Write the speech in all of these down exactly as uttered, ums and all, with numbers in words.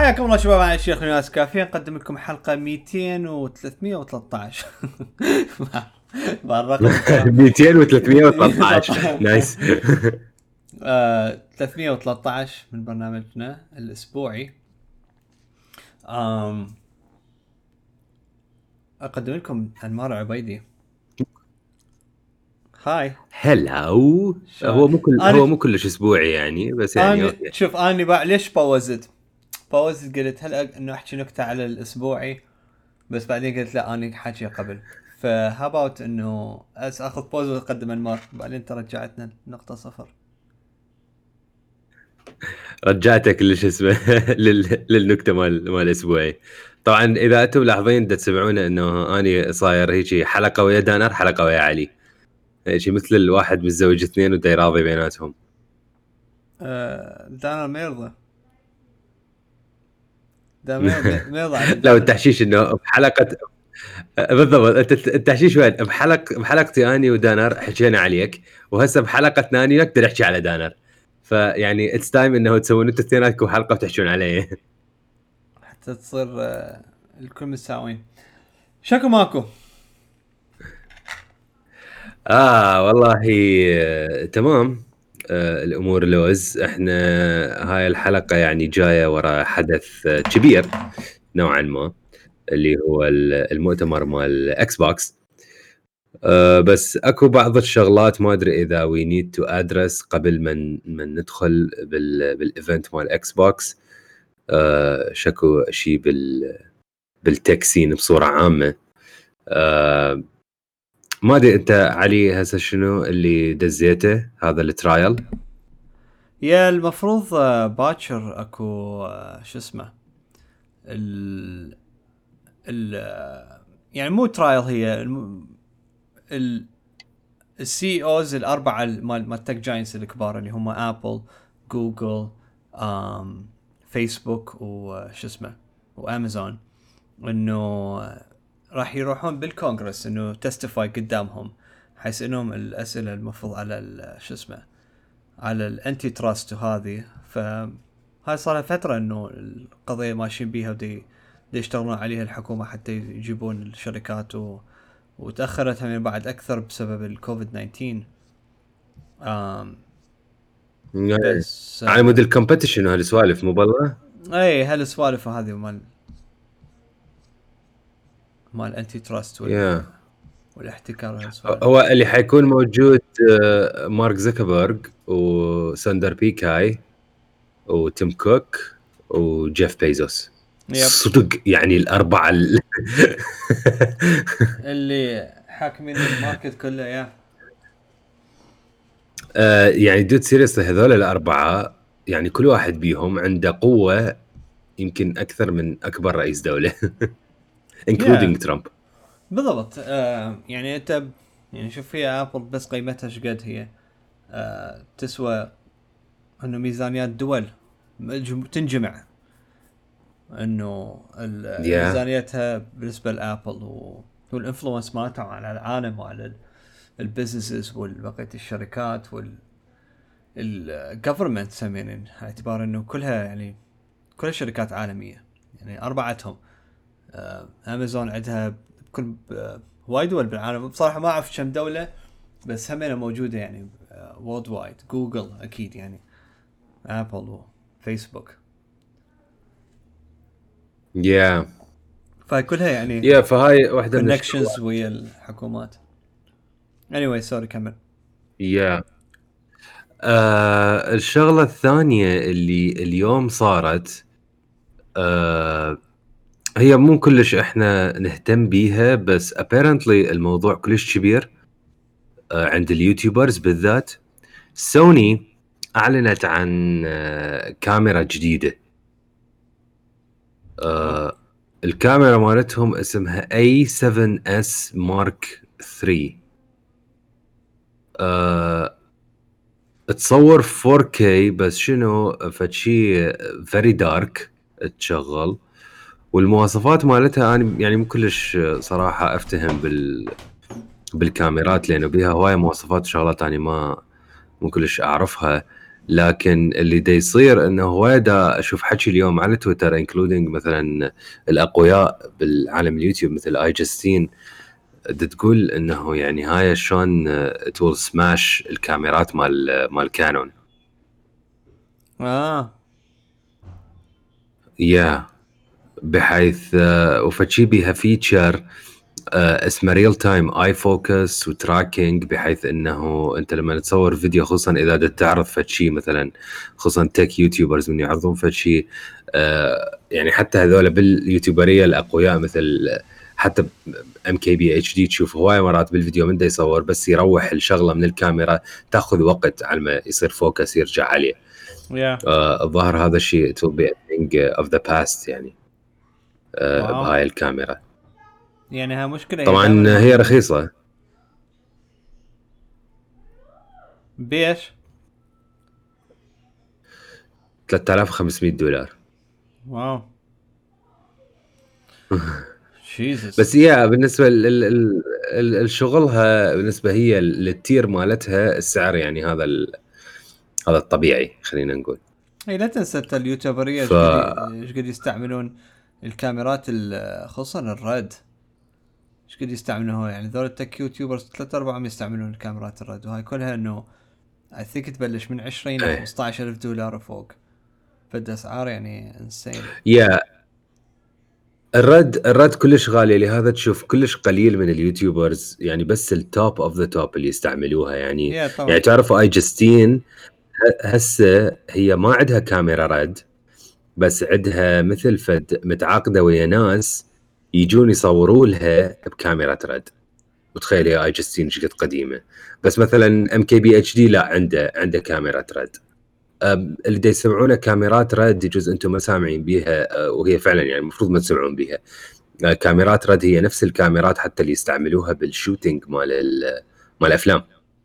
حياكم الله شباب، معي الشيخ ناس كافيين نقدم لكم حلقة مئتين وثلاثمئة وثلاثة عشر بالرقم مئتين وثلاثمئة وثلاثة عشر نايس. آه، ثلاثمئة وثلاثة عشر من برنامجنا الأسبوعي. آم أقدم لكم أنمار عبيدي. هاي هلاو. هو مو كل هو مو كلش اسبوعي يعني، بس يعني أنا شوف أنا بقى ليش باوزت باوزت قلت هلا إنه أحكي نكتة على الأسبوعي، بس بعدين قلت لا أنا حاجة قبل، فهاباوت إنه أس أخذ بوز وأقدم أنمار، بعدين ترجعتنا نقطة صفر. رجعتك ليش اسمه لل... للنكته مال مال الاسبوعي. طبعا اذا انتم ملاحظين دا تسمعونه انه اني صاير هيك حلقه ويا دانر حلقه ويا علي، هيك مثل الواحد متزوج اثنين ودا يراضي بيناتهم. آه دانر ما يرضى، ده ما يرضى ما يرضى لو التحشيش انه بحلقه بالضبط، انت التحشيش وين؟ بحلقه بحلقتي اني ودانر حكينا عليك، وهسه بحلقه ثانيه نقدر نحكي على دانر، فيعني اتس تايم انه تسوون انتم اثنيناتكم حلقه وتحكون عليه حتى تصير آه الكل متساويين. شكو ماكو؟ اه والله آه، تمام. آه الامور لوز. احنا هاي الحلقه يعني جايه ورا حدث آه، كبير نوعا ما، اللي هو المؤتمر مال اكس بوكس. أه بس اكو بعض الشغلات ما ادري اذا وي نيد تو ادرس قبل من من ندخل بال بالايفنت مال اكس بوكس. أه شكو شيء بال بالتكسين بصوره عامه. أه ما ادري انت علي هسه شنو اللي دزيته هذا الترايل؟ يا المفروض آه باكر اكو آه شو اسمه ال ال آه يعني مو ترايل، هي الم... ال السي اوز الاربعه مال مال تك جاينتس الكبار اللي هم ابل، جوجل، آم فيسبوك وش اسمه وامازون، انه راح يروحون بالكونغرس انه تستيفاي قدامهم، حيث انهم الاسئله المفروض على شو اسمه على الانتي تراست وهذه. فهاي صار لها فتره انه القضيه ماشيين بيها ودي يشتغلون عليها الحكومه حتى يجيبون الشركات و... وتاخرت من بعد اكثر بسبب الكوفيد تسعة عشر. آم بس على مود الكومبيتيشن وهالسوالف مو بالله. اي هالسوالف هذه مال مال انتي تراست وال... yeah. والاحتكار والسوالف. هو اللي حيكون موجود مارك زكربيرج وساندر بيكاي وتيم كوك وجيف بيزوس. صدق يعني الأربعة ال... اللي حاكمين الماركت كله. يا آه يعني دود سيريسلي هذول الأربعة يعني كل واحد بيهم عنده قوة يمكن أكثر من أكبر رئيس دولة including ترامب. بالضبط. آه يعني أنت يعني شوف فيها أبل بس قيمتها شقد هي. آه تسوى إنه ميزانيات دول تنجمع، إنه ميزانيتها بالنسبة لأبل والإنفلونس مالتها على العالم وعلى البيزنسز والبقية الشركات وال الجفرمنت سمين، اعتبار إنه كلها يعني كلها شركات عالمية، يعني أربعتهم. آه أمازون عندها بكل وايد دول بالعالم، بصراحة ما أعرف كم دولة بس همينة موجودة يعني وورد وايد. جوجل أكيد يعني، أبل وفيسبوك. يا yeah. فكلها يعني يا yeah, فهاي واحدة من connections ويا الحكومات. anyway sorry كمل. يا yeah. آه الشغلة الثانية اللي اليوم صارت آه هي مو كلش احنا نهتم بيها، بس apparently الموضوع كلش كبير آه عند اليوتيوبرز بالذات. سوني اعلنت عن آه كاميرا جديدة. آه الكاميرا مالتهم اسمها إيه سفن إس Mark ثري. آه تصور فور كي بس شنو فشي very dark تشغل، والمواصفات مالتها انا يعني مو كلش صراحه افتهم بال بالكاميرات لانه بيها هوايه مواصفات وشغلات انا ما مو كلش اعرفها. لكن اللي دا يصير انه هو دا اشوف حكي اليوم على تويتر انكلودينج مثلا الاقوياء بالعالم اليوتيوب مثل اي جاستين تقول انه يعني هاي شلون تول سماش الكاميرات مال مال كانون. اه يا بحيث وفشي بيها فيتشر اسمه ريل تايم اي فوكس وتراكينج، بحيث انه انت لما تصور فيديو خصوصا اذا بدك تعرض فشي مثلا خصوصا تك يوتيوبرز من يعرضون فشي يعني حتى هذول باليوتيوبريه الاقوياء مثل حتى ام كي بي اتش دي تشوف هواي مرات بالفيديو من دا يصور بس يروح الشغله من الكاميرا تاخذ وقت على ما يصير فوكس يرجع عليه. yeah. الظاهر هذا الشيء to be a thing of the past يعني uh, بهاي الكاميرا. يعني ها مشكله طبعا هي, هي رخيصه. بيش ثلاثة آلاف وخمسمية دولار. واو جيزس. بس يا بالنسبه لشغلها بالنسبه هي للتير مالتها السعر يعني هذا هذا الطبيعي خلينا نقول. اي لا تنسى اليوتيوبريه ايش ف... قد قد يستعملون الكاميرات خصوصا الريد، ايش قد يستعملونها يعني ذول التك يوتيوبرز ثلاثة أربعة يستعملون الكاميرات الريد، وهاي كلها انه اي ثينك تبلش من عشرين ل خمسة عشر ألف دولار وفوق، فد اسعار يعني انسين. يا الرد الرد كلش غالي، لهذا تشوف كلش قليل من اليوتيوبرز يعني بس التوب اوف ذا توب اللي يستعملوها يعني. يعني تعرفوا اي جاستين هسه هي ما عندها كاميرا رد، بس عندها مثل فد متعاقده ويا ناس يجون يصوروا لها بكاميرا رد. وتخيل يا اي جاستين ايش قد قديمه. بس مثلا ام كي بي اتش دي لا عنده عنده كاميرا رد. اللي دا يسمعونه كاميرات رد يجوز انتم ما سامعين بيها وهي فعلا يعني المفروض ما تسمعون بيها. كاميرات رد هي نفس الكاميرات حتى اللي يستعملوها بالشوتينج مال مال الافلام.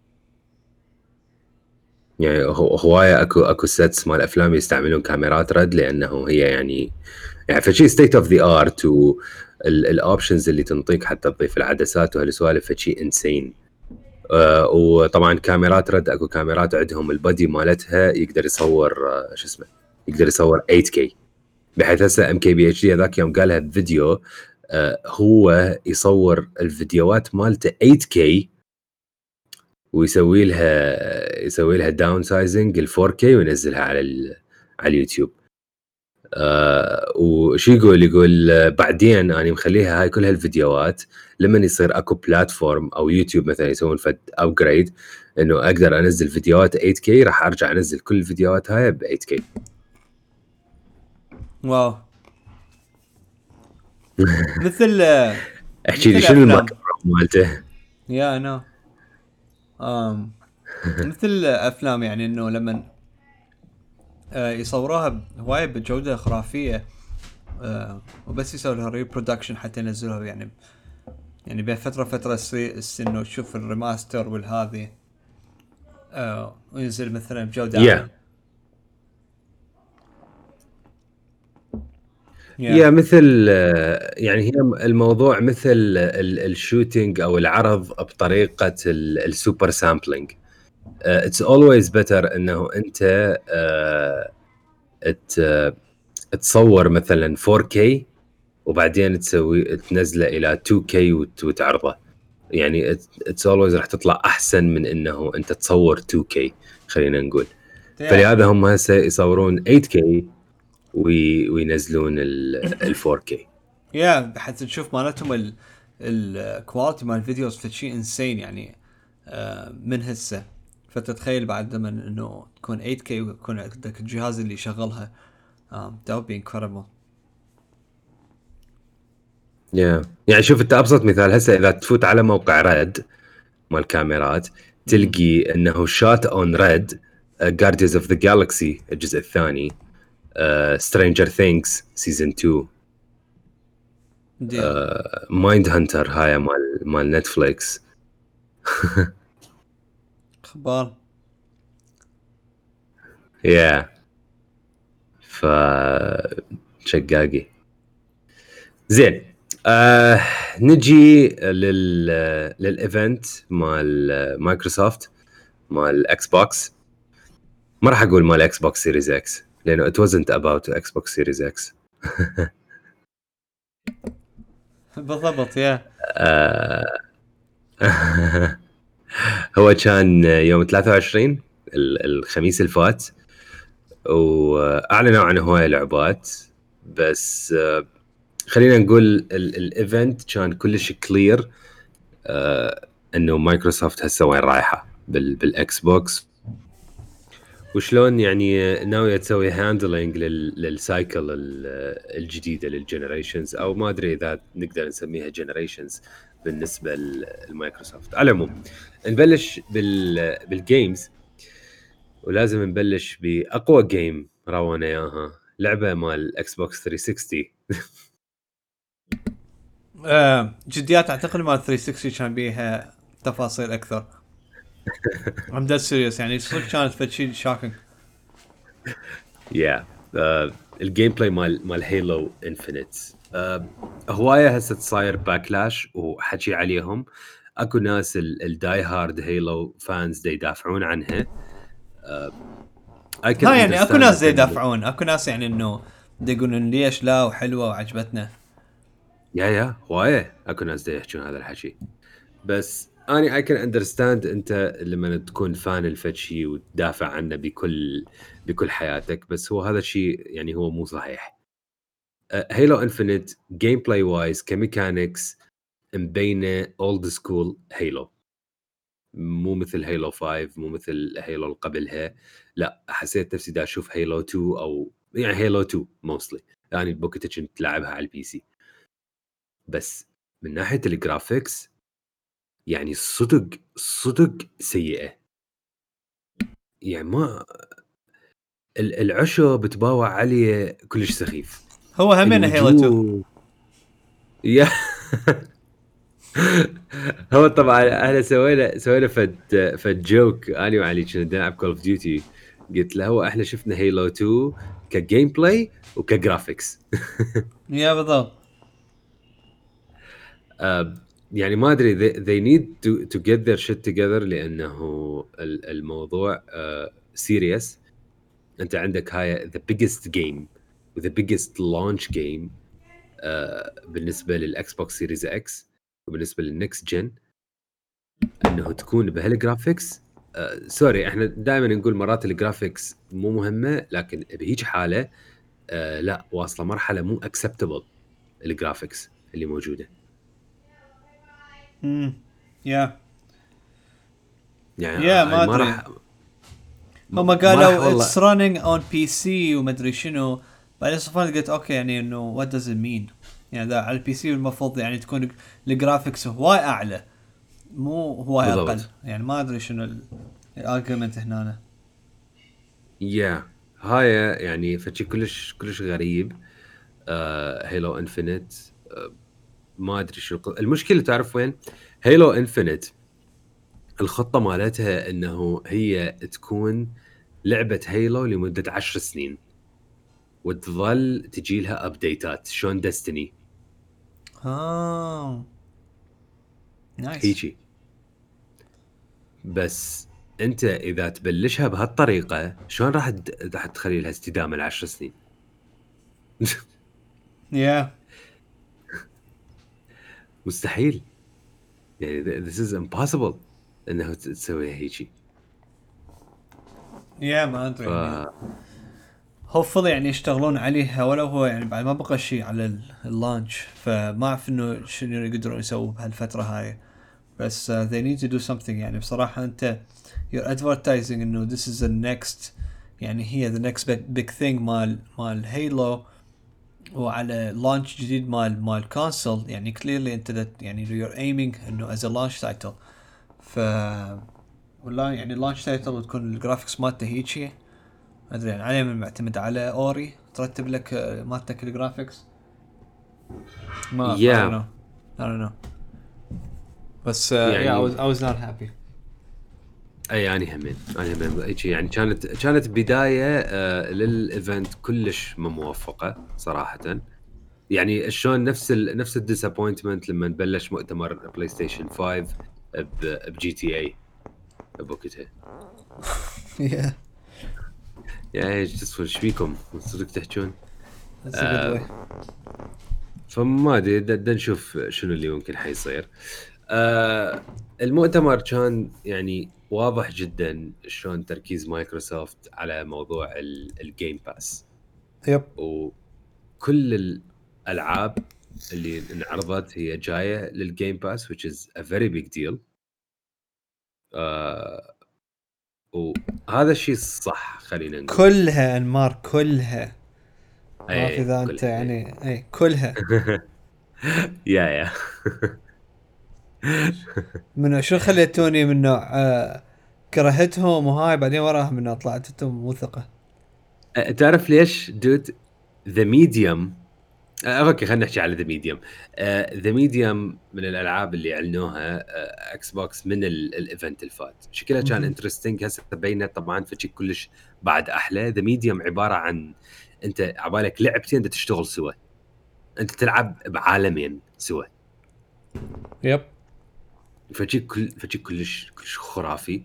يعني هوايه اكو اكو سيتس مال افلام يستعملون كاميرات رد لانه هي يعني يعني فشي ستيت اوف ذا ارت، والاوبشنز اللي تنطيك حتى تضيف العدسات وهالسوالف فشي انسين. آه وطبعا كاميرات رد اكو كاميرات عندهم البادي مالتها يقدر يصور آه شو اسمه يقدر يصور ثمانية كي، بحيث هسه ام كي بي اتش دي هذاك يوم قالها بفيديو آه هو يصور الفيديوهات مالته ثمانية كي ويسوي لها يسوي لها داون سايزنج ل فور كي وينزلها على على اليوتيوب. آه وشي يقول يقول بعدين انا مخليها هاي كل هالفيديوهات لما يصير اكو بلاتفورم او يوتيوب مثلا يسوون فد ابجريد انه اقدر انزل فيديوهات ثمانية كي راح ارجع انزل كل الفيديوهات هاي ب ثمانية كي. واو مثل احكي لي شنو المايكروفون مالته؟ يا انا ام مثل افلام يعني انه لما آه يصوروها هوايه بجوده خرافيه آه وبس يسوي لها ريبرودكشن حتى ينزلوها يعني يعني بين فتره فتره انه تشوف الريماستر والهذه آه وينزل مثلا بجوده عاليه. yeah. يا مثل يعني هي الموضوع مثل الشوتينج او العرض بطريقه السوبر سامبلينج. اتس اولويز بيتر انه انت تصور مثلا فور كي وبعدين تسوي تنزله الى تو كي وتعرضه. يعني اتس اولويز راح تطلع احسن من انه انت تصور تو كي خلينا نقول. فلهذا هم هسه يصورون ثمانية كي وينزلون ال فور كي. يا حتى تشوف مالتهم الكواليتي مال الفيديوز فشي انسين يعني من هسه. فتتخيل بعد لما انه تكون ثمانية كي ويكون عندك الجهاز اللي يشغلها that would be incredible. يا yeah. يعني شوف انت ابسط مثال هسه اذا تفوت على موقع ريد مال كاميرات تلقي انه شات اون ريد جارديانز اوف ذا جالكسي الجزء الثاني، سترينجر ثينكس سيزون تو، مايند هانتر هاي مال مال نتفليكس. اخبار يا yeah. ف شقاقي زين. آه نجي لل للايفنت مال مايكروسوفت مال اكس بوكس. ما راح اقول مال اكس بوكس سيريز اكس لانه it wasn't about اكس بوكس سيريز اكس. بالضبط يا آه هو كان يوم ثلاثة وعشرين الخميس الفات، واعلنوا عن هواية لعبات، بس خلينا نقول الايفنت كان كلش كلير انه مايكروسوفت هسه وين رايحه بالاكس بوكس، وشلون يعني ناويه تسوي هاندلنج للسايكل الجديده للجنريشنز، او ما ادري اذا نقدر نسميها جنريشنز بالنسبه لمايكروسوفت. على العموم نبلش بالجيمز، ولازم نبلش باقوى جيم راونا اياها، لعبه مال اكس بوكس ثلاثمية وستين. آه جديات اعتقد مال ثلاثمية وستين كان بيها تفاصيل اكثر. I'm dead serious يعني صدق كانت فشي شاكينج. يا الجيم بلاي مال مال هيلو انفينيت هوايه هسه صاير باكلاش وحكي عليهم. اكو ناس الداي هارد هيلو فانز دي يدافعون عنها. ها يعني اكو ناس دي يدافعون، اكو ناس يعني انه دي يقولون ليش لا وحلوه وعجبتنا. يا يا هوايه اكو ناس دي يحكون هذا الحكي، بس اني اي كان اندرستاند انت لما تكون فان الفتشي وتدافع عنه بكل بكل حياتك، بس هو هذا الشيء يعني هو مو صحيح. هيلو انفينيت جيم بلاي وايز كميكانكس مبينه اولد سكول هيلو، مو مثل هيلو خمسة، مو مثل هيلو اللي قبلها. لا حسيت نفسي دا اشوف هيلو اثنين، او يعني هيلو اثنين موستلي يعني بوقتها كنت لعبها على البي سي. بس من ناحيه الجرافيكس يعني صدق صدق سيئه، يعني ما العشو بتباوع عليه كلش سخيف. هو همين هيلو اثنين يا هو طبعا احنا سوينا سوينا فد فد جوك اني وعلي كنا نلعب كول اوف ديوتي، قلت له هو احنا شفنا هيلو اثنين كجيم بلاي وكجرافيكس. يا بالضبط. uh, يعني ما ادري they, they need to to get their shit together، لانه الموضوع uh, serious. انت عندك هاي the biggest game the biggest launch game uh, بالنسبه للاكس بوكس سيريز اكس وبالنسبه للنكست جن، انه تكون بهالجرافيكس. آه، سوري احنا دائما نقول مرات الجرافيكس مو مهمه، لكن بهيج حاله آه، لا واصله مرحله مو اكسبتبل الجرافيكس اللي موجوده. امم يا يعني يا ما ما ادري راح هم قالوا اتس رانينج اون بي سي وما ادري شنو، بعدين صفان قلت اوكي يعني انه وات داز ات مين، يعني ده على البي سي المفروض يعني تكون الجرافيكس هواي اعلى مو هواي اقل، يعني ما ادري شنو الارجيومنت هنا. يا yeah. هاي يعني فشي كلش كلش غريب. هيلو uh, انفينيت uh, ما ادري شو المشكله. تعرف وين هيلو انفينيت؟ الخطه مالتها انه هي تكون لعبه هيلو لمده عشر سنين وتظل تجي لها ابديتات شلون ديستني. اه نايس. هيجي بس انت اذا تبلشها بهالطريقه شلون راح راح تخلي لها استدامه لعشر سنين؟ يا مستحيل يعني this is impossible انه تسويها هيجي. يا ما ادري يعني هوفلي يعني يشتغلون عليها، ولو هو يعني بعد ما بقى شيء على اللانش، فما اعرف انه شنو يقدرون يسووا بهالفتره هاي، بس uh, they need to do something. يعني بصراحه انت you're advertising انه this is the next، يعني هي the next big, big thing مال مال هيلو، وعلى لانش جديد مال مال كونسول، يعني clearly انت يعني you're aiming انه as a launch title. ف ولا يعني launch title وتكون الجرافيكس مالته هيجي ادري يعني عليه من معتمد على اوري ترتب لك مالتك الجرافيكس. ما yeah. I don't know I don't know بس uh, يعني yeah, I was I was not happy. اي يعني همين انا همين يعني كانت كانت بدايه آه للايفنت كلش مو موفقه صراحه. يعني شلون نفس ال نفس الديسابوينتمنت لما نبلش مؤتمر بلاي ستيشن خمسة بجي تي اي بوقتها. yeah يا ايش تصفر ايش فيكم صدق تحجون؟ That's a good way. فما ادري د نشوف شنو اللي ممكن حيصير. آه المؤتمر كان يعني واضح جدا شلون تركيز مايكروسوفت على موضوع الجيم باس. يب. وكل الالعاب اللي انعرضت هي جايه للجيم باس which is a very big deal. آه وهذا الشيء صح خلينا نقول. كلها انمار كلها. ما أي في ذا انت كلها. يعني اي كلها. يا يا من شو خليتوني من نوع آه كرهتهم وهاي بعدين وراها من نوع طلعت انتم موثقه. تعرف ليش دود ذا ميديوم؟ اوكي خلينا نحكي على ذا ميديوم. ذا ميديوم من الالعاب اللي اعلنوها اكس بوكس من الايفنت الفات، شكلها كان انترستينج. هسه بينه طبعا فشي كلش بعد احلى. ذا ميديوم عباره عن انت عبالك لعبتين انت تشتغل سوا، انت تلعب بعالمين سوا. يب. فشي كل فشي كلش كلش خرافي.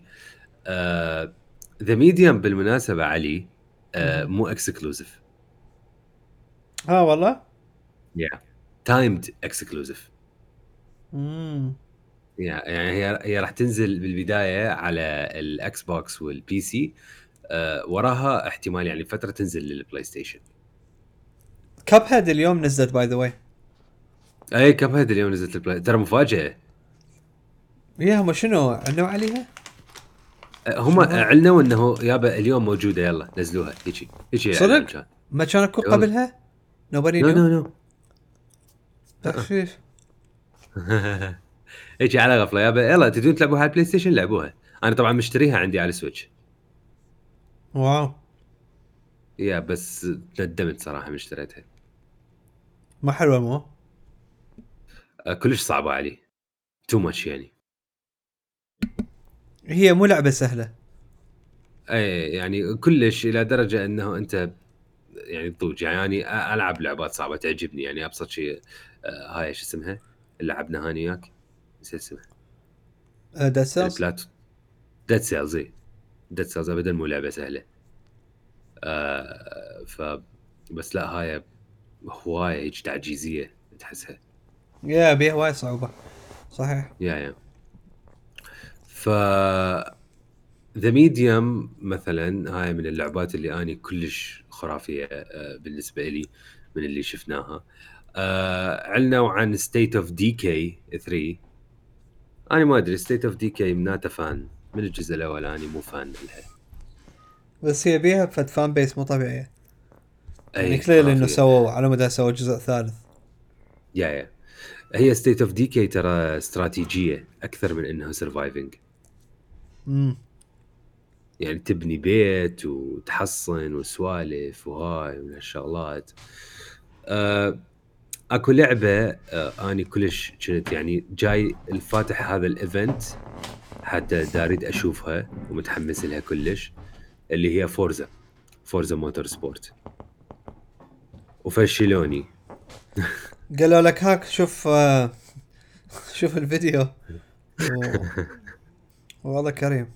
ذا ميديوم بالمناسبه علي uh, مو اكسكلوزيف. اه والله. yeah timed exclusive. امم يعني هي هي راح تنزل بالبدايه على الاكس بوكس والبي سي. أه وراها احتمال يعني فتره تنزل للبلاي ستيشن. كاب هيد اليوم نزلت باي ذا واي. اي كاب هيد اليوم نزلت البلاي، ترى مفاجاه. يا هم شنو اعلنوا عليها؟ أه هم اعلنوا انه يابا اليوم موجوده يلا نزلوها هيجي هيجي. صدق ما كان اكو قبلها؟ نوبري نو نو نو تخفيف. هيجي على غفله يابا يلا تدون تلعبوها على البلاي ستيشن لعبوها. انا طبعا مشتريها عندي على السويتش. واو يا بس ندمت صراحه من اشتريتها. ما حلوه مو أه كلش صعبه علي تو ماتش يعني. هي مو لعبه سهله. اي يعني كلش الى درجه انه انت يعني تضوج يعني العب لعبات صعبه تعجبني يعني ابسط شيء. آه هاي ايش اسمها اللي لعبنا هاني وياك نسيت اسمها. ديد سيلز. ديد سيلز. اي ديد سيلز ابدا مو لعبه سهله. آه ف بس لا هاي هوايه هيك تعجيزيه تحسها. يا بيها وايد صعوبه صحيح. يا يا ف ذا ميديوم مثلا هاي من اللعبات اللي اني كلش خرافيه بالنسبه لي من اللي شفناها. اعلنوا عن ستيت اوف ديكي ثلاثة. انا ما ادري ستيت اوف ديكي مناته فان من الجزء الاول، اني مو فان لها. بس هي بيها فد فان بيس مو طبيعيه يعني. اي كليل انه سووا على مدى سووا جزء ثالث. يا يا هي ستيت اوف ديكي ترى استراتيجيه اكثر من انها سرفايفنج. امم يعني تبني بيت وتحصن وسوالف وهاي من هالشغلات. أه اكو لعبه أه اني كلش كنت يعني جاي الفاتح هذا الايفنت حتى داريد اشوفها ومتحمس لها كلش، اللي هي فورزا فورزا موتور سبورت. وفشلوني. قالوا لك هاك شوف آه شوف الفيديو و... والله كريم.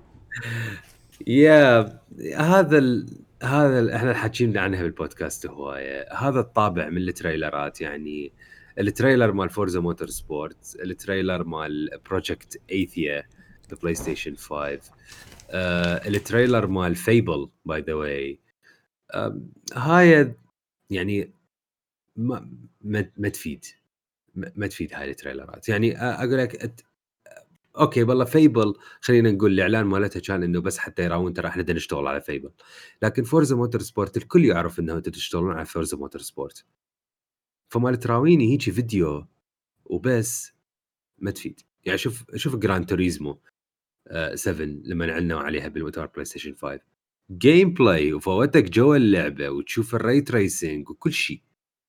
يا هذا ال... هذا ال... احنا حكينا عنها بالبودكاست هوايه. هذا الطابع من التريلرات يعني التريلر مال فورزا موتور سبورت، التريلر مال بروجكت ايثيا ببلاي ستيشن خمسة، آه، التريلر مال فيبل باي ذا واي. هاي يعني ما ما, ما تفيد ما, ما تفيد هاي التريلرات يعني. اقول لك أت... اوكي والله فيبل خلينا نقول الاعلان مالتها كان انه بس حتى يراون ترى احنا بدنا نشتغل على فيبل. لكن فورزا موتور سبورت الكل يعرف انه انتم تشتغلون على فورزا موتور سبورت، فما تراويني هيجي فيديو وبس ما تفيد يعني. شوف شوف جراند توريزمو سبعة لما اعلنوا عليها بالمؤتمر بلاي ستيشن خمسة، جيم بلاي وفوتك جوا اللعبه وتشوف الري تريسنج وكل شيء،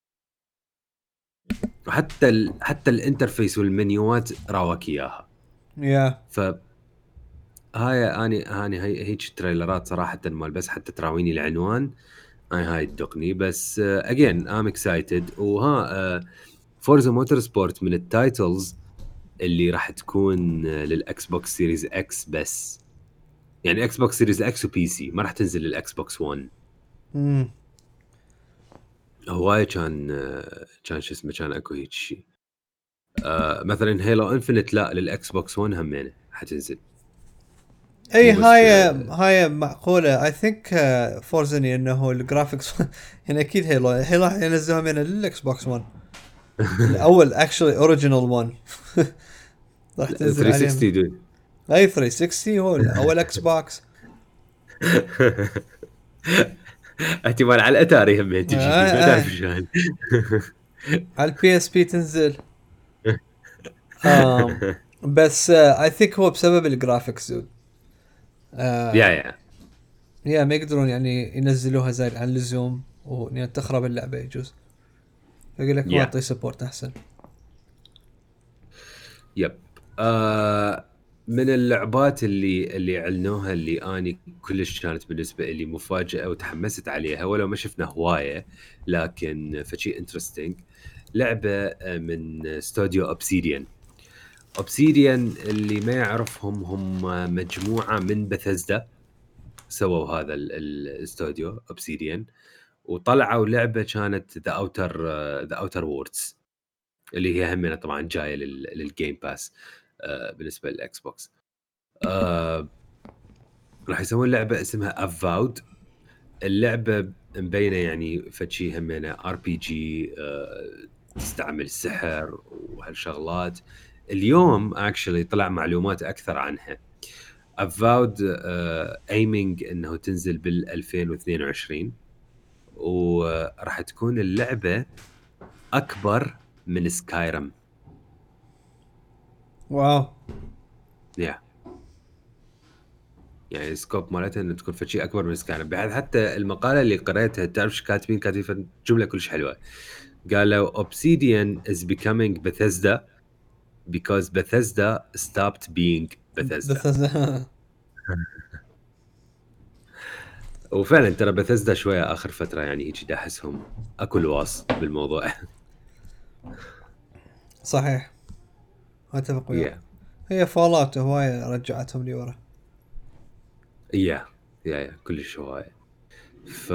وحتى ال... حتى الانترفيس والمنيوات راوك اياها. يا ف هاي اني اني هي هيك تريلرات صراحه مال بس حتى تراويني العنوان هاي هاي تدقني. بس اجين ام اكسايتد. وها فورزا موتور سبورت من التايتلز اللي راح تكون للاكس بوكس سيريز اكس بس. يعني اكس بوكس سيريز اكس وبي سي، ما راح تنزل للاكس بوكس ون. امم هواي كان كان شو اسمه كان اكو هيك شيء. آه مثلا هيلو انفنت لا للاكس بوكس ون همينه حتنزل. اي مو بس هاي آه هاي معقوله. اي ثينك فورزني انه الجرافيكس يعني اكيد هيلو هيلو راح ينزلوها من الاكس بوكس ون الاول اكشلي اوريجينال ون راح تنزل عليهم. ثلاثمية وستين دود. اي ثلاثمية وستين هو اول اكس بوكس. احتمال على الاتاري هم آه تجي ما تعرف آه. شلون. على البي اس بي تنزل. آم بس اي ثينك هو بسبب الجرافيكس دود. يا آه يا يا ما يقدرون يعني ينزلوها زايد عن اللزوم ويعني تخرب اللعبه يجوز. يقول لك ما يا اعطي سبورت احسن. يب. آه من اللعبات اللي اللي اعلنوها اللي اني كلش كانت بالنسبه لي مفاجاه وتحمست عليها ولو ما شفنا هوايه، لكن فشي انترستينج. لعبه آه، من استوديو اوبسيديان. اوبسيديان اللي ما يعرفهم هم مجموعه من بثزدا، سووا هذا ال- الاستوديو اوبسيديان، وطلعوا لعبه كانت ذا اوتر ذا اوتر ووردز، اللي هي همنا طبعا جايه لل- للجيم باس آه، بالنسبه للاكس بوكس. آه، راح يسوون لعبه اسمها افاود. اللعبه مبينه يعني فشي همنا ار بي جي، تستعمل السحر وهالشغلات. اليوم اكشلي طلع معلومات اكثر عنها. افاود ايمينج انه تنزل بال ألفين واثنين وعشرين، وراح تكون اللعبه اكبر من سكايرم. واو. يا يعني السكوب مالتها انه تكون فشي اكبر من سكايرم، بحيث حتى المقاله اللي قريتها تعرف شو كاتبين؟ كاتبين جمله كلش حلوه. قالوا Obsidian is becoming Bethesda because Bethesda stopped being Bethesda. بس وفعلا ترى بثزدا شويه اخر فتره يعني هيك احسهم اكو الواص بالموضوع. صحيح اتفق وياك. يا هي فولات هواية رجعتهم لي ورا. يا يا يا كلش هوايه. ف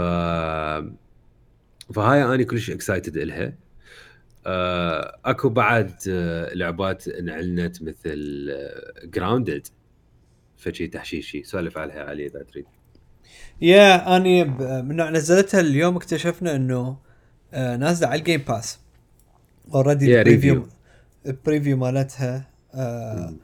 فهاي اني كلش اكسايتد الها. آه، اكو بعد آه، لعبات انعلنت مثل جراوندد، فشي تحشيشي سولف عليها علي اذا تريد. يا اني ب- من نوع نزلتها اليوم اكتشفنا انه آه نازله على الجيم باس اوريدي. يا البريفيو ريفيو. البريفيو مالتها. آه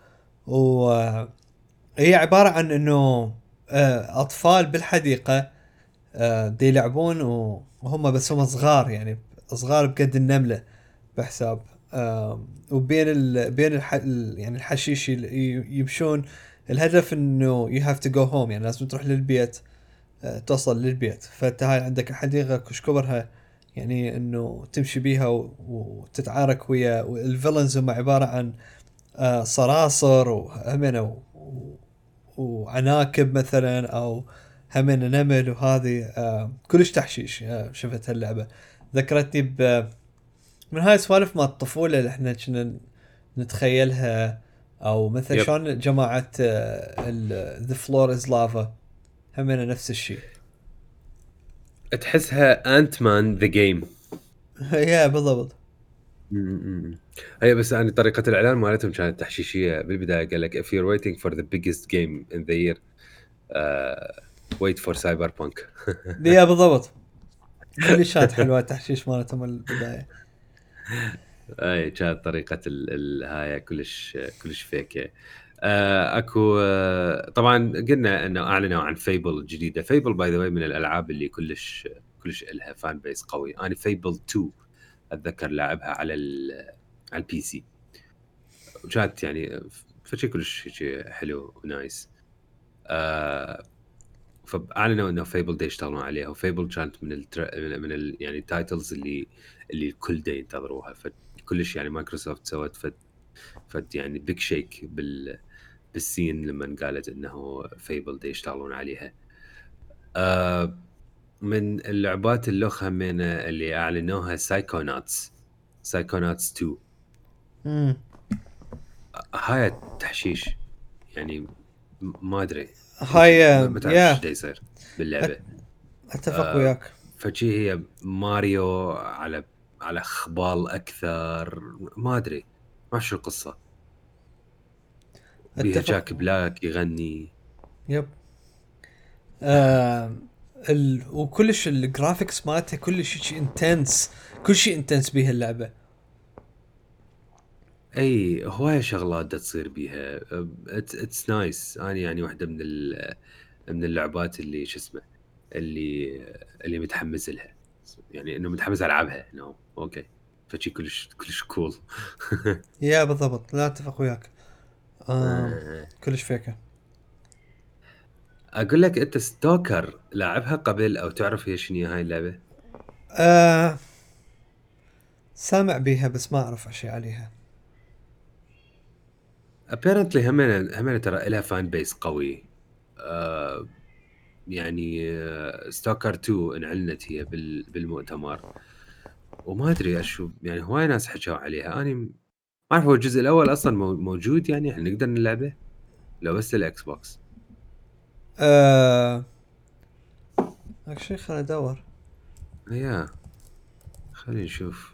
وهي عباره عن انه آه اطفال بالحديقه آه دي يلعبون و- وهم بس هم صغار يعني صغار بقد النمله بحساب. آه وبين ال بين الح ال- يعني الحشيش ي- يمشون. الهدف انه you have to go home يعني لازم تروح للبيت. آه توصل للبيت فانت هاي عندك الحديقه كش كبرها يعني انه تمشي بيها و- وتتعارك ويا الفيلنز هم عباره عن آه صراصر وهمنا و- و- وعناكب مثلا او همنا نمل وهذه آه كلش تحشيش. آه شفت هاللعبه ذكرتني ب من هاي السوالف مال الطفولة اللي احنا كنا نتخيلها. او مثل يب شلون جماعة ذا فلور از لافا همنا نفس الشيء. تحسها انت مان ذا جيم. يا بالضبط. هي بس يعني طريقه الاعلان مالتهم كانت تحشيشيه بالبدايه. قال لك if you're waiting for the biggest game in the year uh, wait for cyberpunk. يا بالضبط. كلش كانت حلوة التحشيش مالتهم البداية. اي كانت طريقه ال ال هاي كلش كلش فيك. آه اكو آه طبعا قلنا انه اعلنوا عن فيبل الجديده. فيبل باي ذا واي من الالعاب اللي كلش كلش لها فان بيس قوي. انا فيبل تو اتذكر لعبها على ال على البي سي، وكانت يعني فشي كلش هيك حلو ونايس. آه فاعلنوا انه فيبل دي يشتغلون عليها، وفيبل كانت من التر... من ال... يعني التايتلز اللي اللي الكل دا ينتظروها. فكلش يعني مايكروسوفت سوت فد فد يعني بيج شيك بال بالسين لما قالت انه فيبل دي يشتغلون عليها. آه من اللعبات اللوخ همينة اللي اعلنوها سايكوناتس. سايكوناتس تو. امم هاي تحشيش يعني م- ما ادري. هاي ما تعرف يا ايش دا يصير باللعبه. اتفق آه وياك. فشي هي ماريو على على خبال اكثر، ما ادري ما شو القصه. بيها اتفق. جاك بلاك يغني. يب. آه ال... وكلش الجرافيكس مالتها كلش شيء انتنس، كل شيء انتنس بيها اللعبه. اي هوايه شغلات دا تصير بيها. اتس نايس. انا يعني واحده من ال... من اللعبات اللي شو اسمه اللي اللي متحمس لها، يعني انه متحمس العبها. نو اوكي فشي كلش كلش كول. يا بالضبط، لا اتفق وياك. آه كلش فيكه. اقول لك انت ستوكر لاعبها قبل او تعرف هي شنو هاي اللعبه؟ آه سامع بيها بس ما اعرف اشي عليها. ابيرنتلي هم هم ترى لها فان بيس قوي. آه يعني ستوكر تو انعلنت هي بال بالمؤتمر، وما ادري اشو يعني هواي ناس حكوا عليها. انا ما اعرف هو الجزء الاول اصلا مو- موجود يعني يعني نقدر نلعبه لو بس للاكس بوكس. آه شيء خليني ادور. يا خلينا نشوف.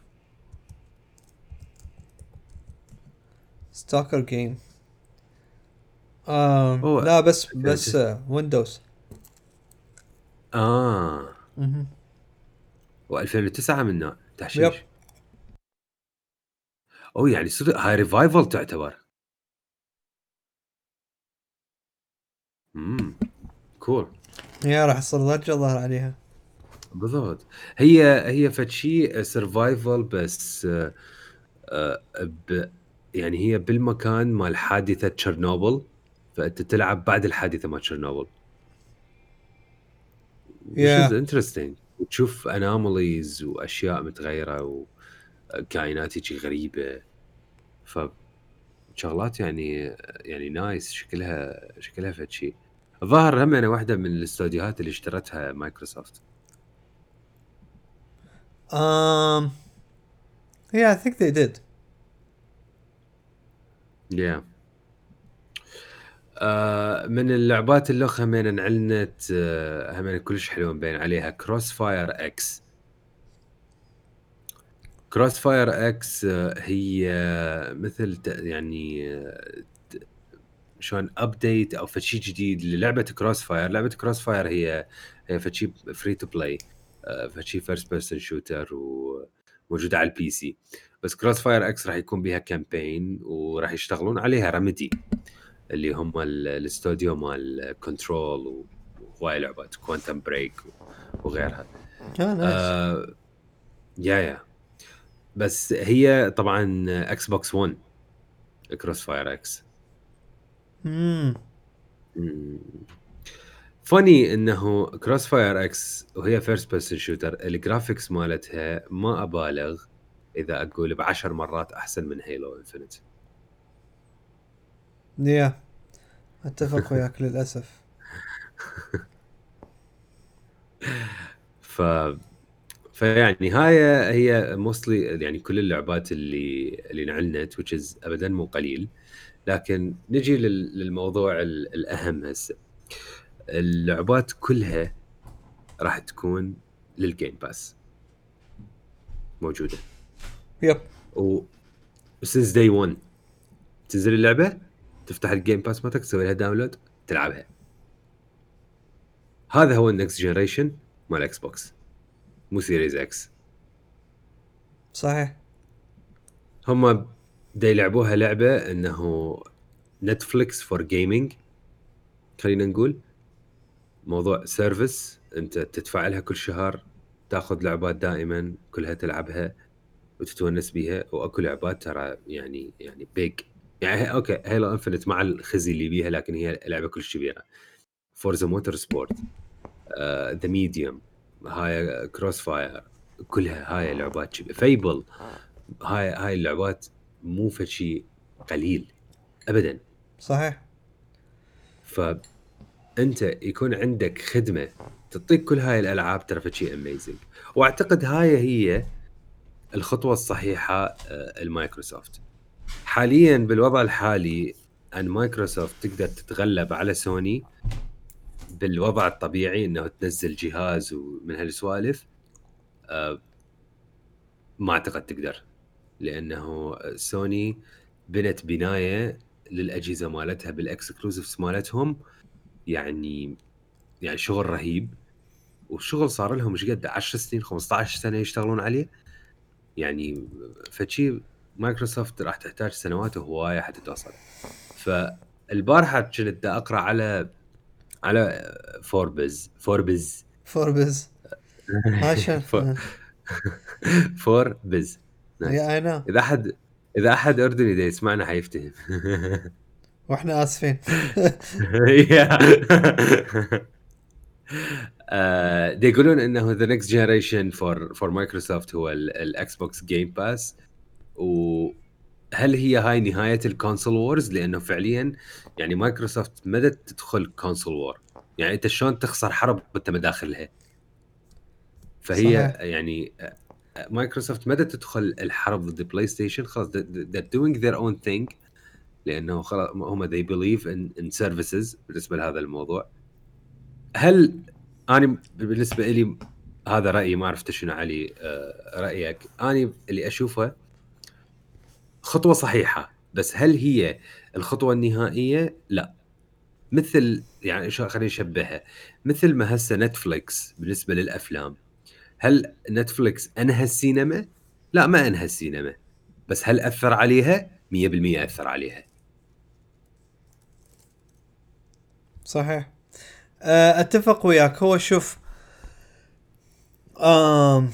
ستوكر جيم. آه هو لا بس بس ألفين وتسعة. آه ويندوز. اه مهم. و2009 منه يب. تحشيش. او يعني صدق هاي ريفايفل تعتبر. امم كول. يا راح يصير ضجه ظهر عليها. بالضبط. هي هي فشي سرفايفل بس آه آه ب يعني هي بالمكان مال حادثة تشيرنوبل، فانت تلعب بعد الحادثة مال تشيرنوبل which is يا interesting. وتشوف anomalies واشياء متغيرة وكائنات هيجي غريبة، فشغلات يعني يعني نايس. شكلها شكلها فشي. الظاهر هم انا واحدة من الاستوديوهات اللي اشترتها مايكروسوفت. um yeah, I think they did. yeah. آه من اللعبات اللي همين انعلنت آه همين كلش حلوة مبين عليها كروس فاير اكس. كروس فاير اكس آه هي مثل ت- يعني آه، ت- شلون ابديت او فشي جديد للعبة كروس فاير. لعبة كروس فاير هي هي فشي فري تو بلاي، فشي فيرست بيرسون شوتر وموجودة على البي سي. بس كروس فاير اكس راح يكون بيها كامبين وراح يشتغلون عليها رمدي اللي هم ال- الاستوديو مال كنترول وهواي لعبات كوانتم بريك وغيرها. اه نايس. آه يا يا بس هي طبعا اكس بوكس ون كروس فاير اكس. امم فاني انه كروس فاير اكس وهي فيرست بيرسون شوتر الجرافيكس مالتها ما ابالغ اذا اقول بعشر مرات احسن من هيلو انفنت. يا اتفق وياك للاسف. ف فيعني هاي هي موستلي يعني كل اللعبات اللي اللي نعلنت which is ابدا مو قليل. لكن نجي لل- للموضوع ال- الاهم هسه. اللعبات كلها راح تكون للجيم باس موجوده. يب. و since day one تنزل اللعبه تفتح الجيم باس مالتك تسوي لها داونلود تلعبها. هذا هو النكست جنريشن مال اكس بوكس مو سيريز اكس. صحيح. هم دا يلعبوها لعبه انه نتفليكس فور جيمنج. خلينا نقول موضوع سيرفيس انت تدفع لها كل شهر، تاخذ لعبات دائما كلها تلعبها وتتونس بيها. واكو لعبات ترى يعني يعني بيج يعني هي اوكي هيلو انفنت مع الخزي اللي بيها لكن هي لعبه كلش كبيره. فورزا موتور سبورت، ذا ميديوم، هاي كروس فاير، كلها هاي لعبات كبيره. فيبل، هاي هاي اللعبات مو فشي قليل ابدا. صحيح. فانت يكون عندك خدمه تعطيك كل هاي الالعاب ترى فشي اميزنج. واعتقد هاي هي الخطوه الصحيحه. آه، المايكروسوفت حاليا بالوضع الحالي ان مايكروسوفت تقدر تتغلب على سوني بالوضع الطبيعي انه تنزل جهاز ومن هالسوالف أه ما اعتقد تقدر، لانه سوني بنت بنايه للاجهزه مالتها بالاكسكلوسيفز مالتهم، يعني يعني شغل رهيب، والشغل صار لهم مش قد عشر سنين خمسة عشر سنه يشتغلون عليه، يعني فشي مايكروسوفت راح تحتاج سنوات وهوايه حتى توصل. فالبارحه كنت اقرا على على فوربز فوربز فوربز عشان فوربز نايس. يا انا اذا احد اذا احد اردني دا يسمعنا حيفتهم. واحنا اسفين. آه، دي يقولون انه ذا نكست جنريشن فور فور مايكروسوفت هو الاكس بوكس جيم باس. وهل هي هاي نهايه الكونسول وورز؟ لانه فعليا يعني مايكروسوفت مدت تدخل كونسول وور، يعني انت شلون تخسر حرب وانت مداخلها؟ فهي صحيح. يعني مايكروسوفت مدت تدخل الحرب ضد بلاي ستيشن، خلاص they're doing their own thing، لانه خلاص هم they believe in in services بالنسبه لهذا الموضوع. هل انا بالنسبه لي هذا رايي، ما عرفت شنو علي آه رايك؟ انا اللي اشوفه خطوه صحيحه، بس هل هي الخطوه النهائيه؟ لا. مثل يعني شو خلينا نشبهها، مثل ما هسه نتفليكس بالنسبه للافلام، هل نتفليكس انهى السينما؟ لا، ما انهى السينما، بس هل اثر عليها؟ مية بالمية اثر عليها. صحيح. أه، اتفق وياك. هو شوف، آم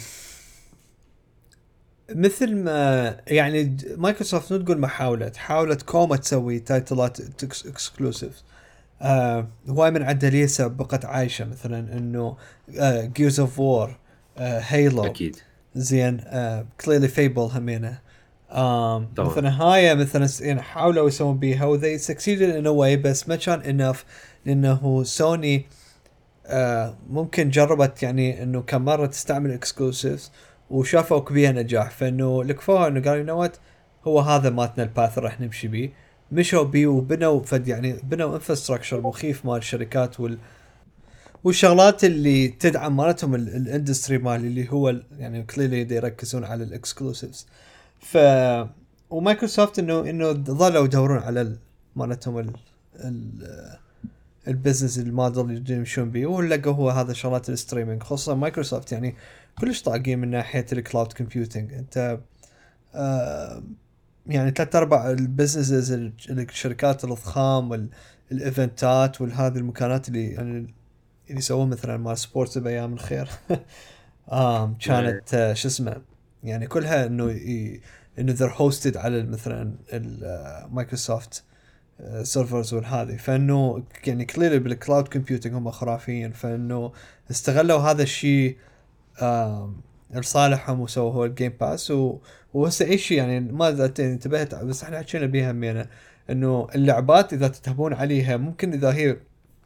مثل ما يعني مايكروسوفت نقول ما حاولت حاولت كوما تسوي تايتلات اكسكلوسيف. آه هواي من عندها ليسا بقت عايشة، مثلا انه جيرز اوف وور، هيلو، اكيد زين، كليرلي فيبل همينه. آم طبعا. مثلا هاي مثلا يعني حاولوا يسوون بيها وذي succeeded in a way، بس ما كان enough، لانه سوني آه ممكن جربت يعني انه كم مرة تستعمل اكسكلوسيفز وشافوا بيها نجاح، فانه لكفوها انه قالوا نوات هو هذا ماتنا الباث راح نمشي بيه. مشوا بيه وبنوا فد يعني بنوا انفراستراكشر مخيف مال الشركات وال والشغلات اللي تدعم مالتهم الاندستري مال اللي هو يعني كليرلي يركزون على الاكسكلوسيفز. ف ومايكروسوفت انه انه ظلوا يدورون على مالتهم ال ال البزنس الموديل اللي يمشون بيه، ولقوا هو هذا شغلات الستريمينج، خصوصا مايكروسوفت يعني كلش طاقين من ناحيه الكلاود كومبيوتنج. انت آه يعني ثلاث ارباع البزنسز الشركات الضخام والايفنتات والهذه المكانات اللي يعني اللي يسوون مثلا مال سبورتس بايام الخير آه كانت آه شو اسمه يعني كلها انه ي... انه ذر هوستد على مثلا المايكروسوفت سيرفرز والهذه. فانه يعني كليرلي بالكلاود كومبيوتنج هم خرافيين، فانه استغلوا هذا الشيء لصالحهم وسووا هو الجيم باس. و... وهسه اي شيء يعني ما انتبهت بس احنا حكينا بيها همينه انه اللعبات اذا تتهبون عليها ممكن اذا هي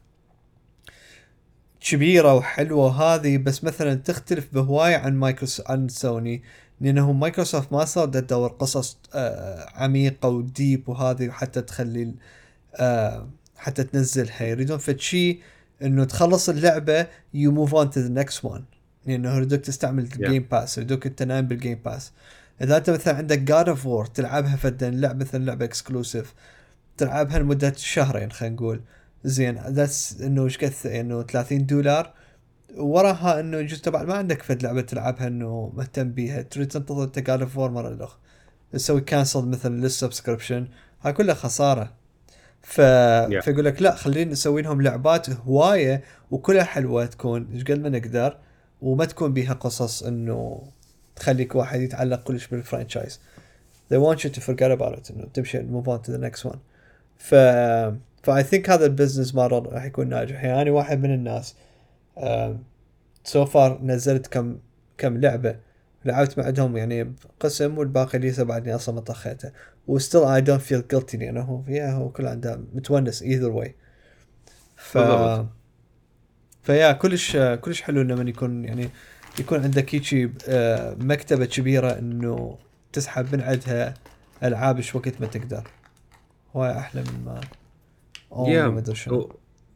كبيره وحلوه هذه، بس مثلا تختلف بهوايه عن مايكروسوفت عن سوني، لانه مايكروسوفت ما صار تدور قصص آه عميقه وديب وهذه حتى تخلي آه حتى تنزلها. يريدون فد شيء انه تخلص اللعبه يو موف اون تو ذا نكست وان، لانه يريدوك تستعمل الجيم yeah. باس، يريدوك انت نايم بالجيم باس. اذا انت مثلا عندك جاد اوف وور تلعبها فدا لعبه مثلا لعبه اكسكلوسيف تلعبها لمده شهرين خلينا نقول، زين ذاتس انه ايش قد انه ثلاثين دولار، وراها انه يجوز تبع ما عندك فد لعبه تلعبها انه مهتم بيها، تريد تنتظر انت جاد اوف وور مره الاخ تسوي كانسل مثلا للسبسكريبشن، هاي كلها خساره. ف... yeah. فيقول لك لا خلينا نسوي لهم لعبات هوايه وكلها حلوه تكون ايش قد ما نقدر، وما تكون بيها قصص انه تخليك واحد يتعلق كلش بالفرانشايز. they want you to forget about it، انه تمشي move on to the next one. ف فاي ثينك هذا البزنس موديل راح يكون ناجح. يعني انا واحد من الناس سو uh, فار so نزلت كم كم لعبه لعبت معهم يعني قسم، والباقي ليس بعدني اصلا ما طخيته، وستيل اي دونت فيل جيلتي لانه فيها هو كل عنده متونس ايذر واي. ف بالضبط. فيا كلش كلش حلو لما يكون يعني يكون عندك هيجي مكتبه كبيره انه تسحب من عندها العاب ايش وقت ما تقدر، هواي احلى من ما او ما يا ادري شنو.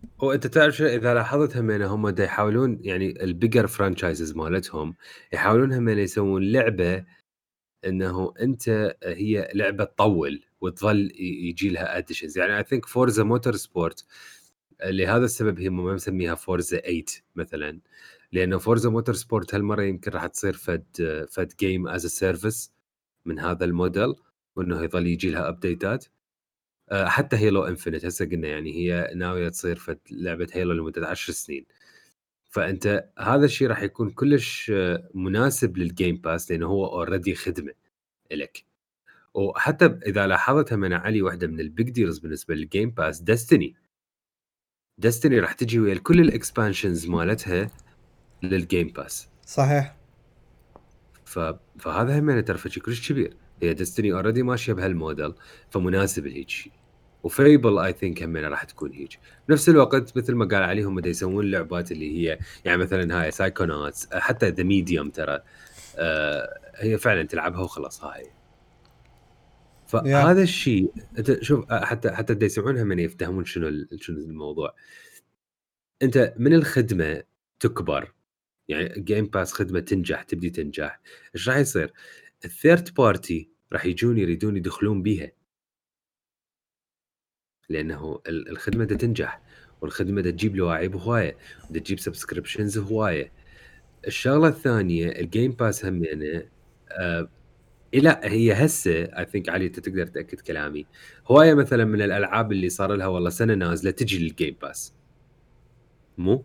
وانت تعرف شو اذا لاحظت همين هم دا يحاولون يعني البيجر فرانشايزز مالتهم يحاولون همين يسوون لعبه انه انت هي لعبه تطول وتظل يجي لها اديشنز. يعني اي ثينك فورزا موتور سبورت لهذا السبب هي ما مسميها فورزا ثمانية مثلا، لانه فورزا موتور سبورت هالمره يمكن راح تصير فد فد جيم از سيرفيس من هذا الموديل، وانه يظل يجي لها ابديتات. حتى هيلو انفينيت هسه قلنا يعني هي ناويه تصير فد لعبه هيلو لمده عشر سنين. فانت هذا الشيء راح يكون كلش مناسب للجيم باس لانه هو اوريدي خدمه لك. وحتى اذا لاحظتها من علي واحده من البيج ديلز بالنسبه للجيم باس ديستني ديستني راح تجي ويا كل الاكسبانشنز مالتها للجيم باس. صحيح. ف... فهذا هم ترى شيء كلش كبير. هي ديستني اوريدي ماشيه بهالموديل فمناسب لهيك شيء. وفيبل اي ثينك هم راح تكون هيك. بنفس الوقت مثل ما قال عليهم بده يسوون اللعبات اللي هي يعني مثلا هاي سايكوناتس حتى ذا ميديوم ترى آه هي فعلا تلعبها وخلاص هاي. يا فهذا الشيء انت شوف حتى حتى بده يسمعونها من يفتهمون شنو شنو الموضوع. انت من الخدمه تكبر يعني جيم باس خدمه تنجح تبدي تنجح ايش راح يصير؟ الثيرد بارتي راح يجون يريدون يدخلون بيها لانه الخدمه دا تنجح والخدمه دا تجيب لواعيب هوايه ودا تجيب سبسكريبشنز هوايه. الشغله الثانيه الجيم باس هم يعني آه لا هي هسه اي ثينك علي انت تقدر تاكد كلامي هوايه مثلا من الالعاب اللي صار لها والله سنه نازله تجي للجيم باس مو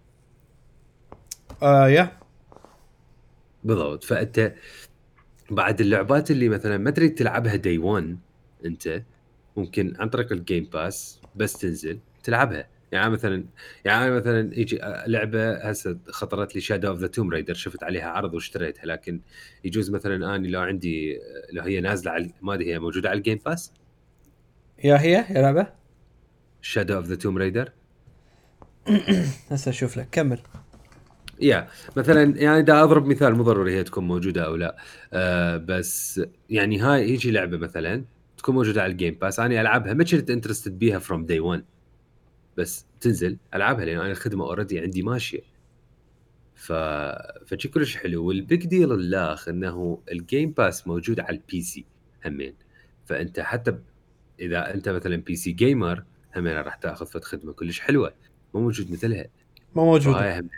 آه يا بالضبط. فانت بعد اللعبات اللي مثلا ما تريد تلعبها داي واحد انت ممكن عن طريق الجيم باس بس تنزل تلعبها. يعني مثلا يعني مثلا يجي لعبه هسه خطرت لي شادو اوف ذا توم رايدر شفت عليها عرض واشتريتها لكن يجوز مثلا اني لو عندي لو هي نازله على ما ادري هي موجوده على الجيم باس يا هي يا لعبة شادو اوف ذا توم رايدر. هسه اشوف لك كمل. يا مثلا يعني دا اضرب مثال مو ضروري هي تكون موجوده او لا آه بس يعني هاي يجي لعبه مثلا تكون موجوده على الجيم باس انا العبها ما كنت انترستد بيها فروم داي واحد بس تنزل العبها لان انا الخدمه اوريدي عندي ماشيه. ف فشي كلش حلو. والبيج ديل الاخ انه الجيم باس موجود على البي سي همين. فانت حتى ب... اذا انت مثلا بي سي جيمر همين راح تاخذ فد خدمه كلش حلوه مو موجود مثلها. ما موجودة. فهاي هم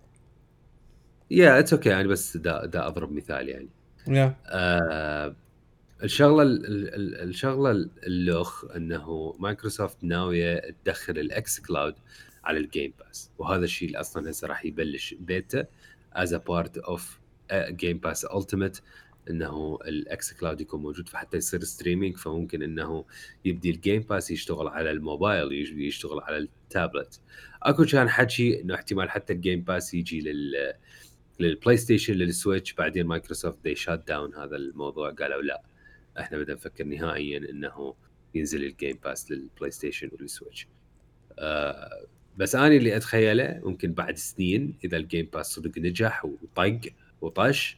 يا اتس اوكي يعني بس دا, دا اضرب مثال يعني. يا آه الشغله ال- ال- الشغله اللوخ انه مايكروسوفت ناويه تدخل الاكس كلاود على الجيم باس وهذا الشيء اللي اصلا هسه راح يبلش بيتا از ا بارت اوف جيم باس التيميت انه الاكس كلاود يكون موجود فحتى يصير ستريمينج فممكن انه يبدي الجيم باس يشتغل على الموبايل يشتغل على التابلت. اكو كان حكي انه احتمال حتى الجيم باس يجي لل للبلاي ستيشن للسويتش بعدين مايكروسوفت دي شات داون هذا الموضوع قالوا لا احنا بدنا نفكر نهائيا انه ينزل الجيم باس للبلاي ستيشن والسويتش. آه بس انا اللي اتخيله ممكن بعد سنين اذا الجيم باس صدق نجح وطق وطش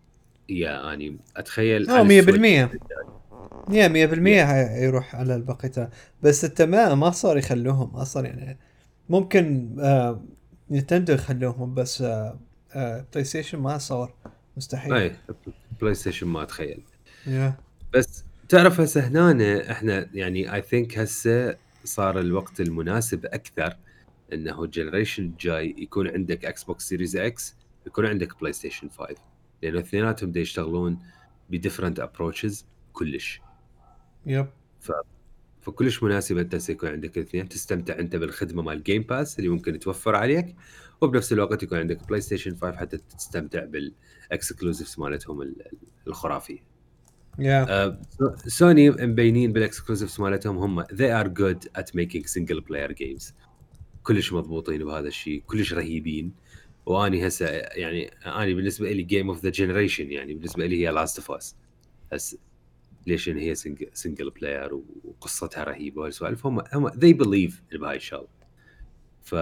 يا اني اتخيل اه على مية السويتش بالمية يا مية يا بالمية يروح على البقية. بس انت ما ما صار يخلوهم اصلا يعني. ممكن آه نينتندو يخلوهم بس آه آه بلاي ستيشن ما صار. مستحيل. اي بلاي ستيشن ما اتخيل. يا بس تعرف هسه هنا احنا يعني اي ثينك هسه صار الوقت المناسب اكثر انه الجنريشن الجاي يكون عندك اكس بوكس سيريز اكس يكون عندك بلاي ستيشن خمسة لانه اثنيناتهم دا يشتغلون بديفرنت ابروتشز كلش. يب ف... فكلش مناسب انت يكون عندك الاثنين تستمتع انت بالخدمه مال الجيم باس اللي ممكن توفر عليك وبنفس الوقت يكون عندك بلاي ستيشن خمسة حتى تستمتع بالاكسكلوزيفز مالتهم ال- الخرافيه. يا آه، سوني مبينين بالاكسكلوزيفز مالتهم هم they are good at making single player games كلش مضبوطين بهذا الشيء كلش رهيبين. واني هسه يعني اني بالنسبه لي جيم اوف ذا جنريشن يعني بالنسبه لي هي لاست اوف اس هسه ليش إن هي سنجل بلاير وقصتها رهيبه والسوالف هم هم they believe بهاي الشغله. ف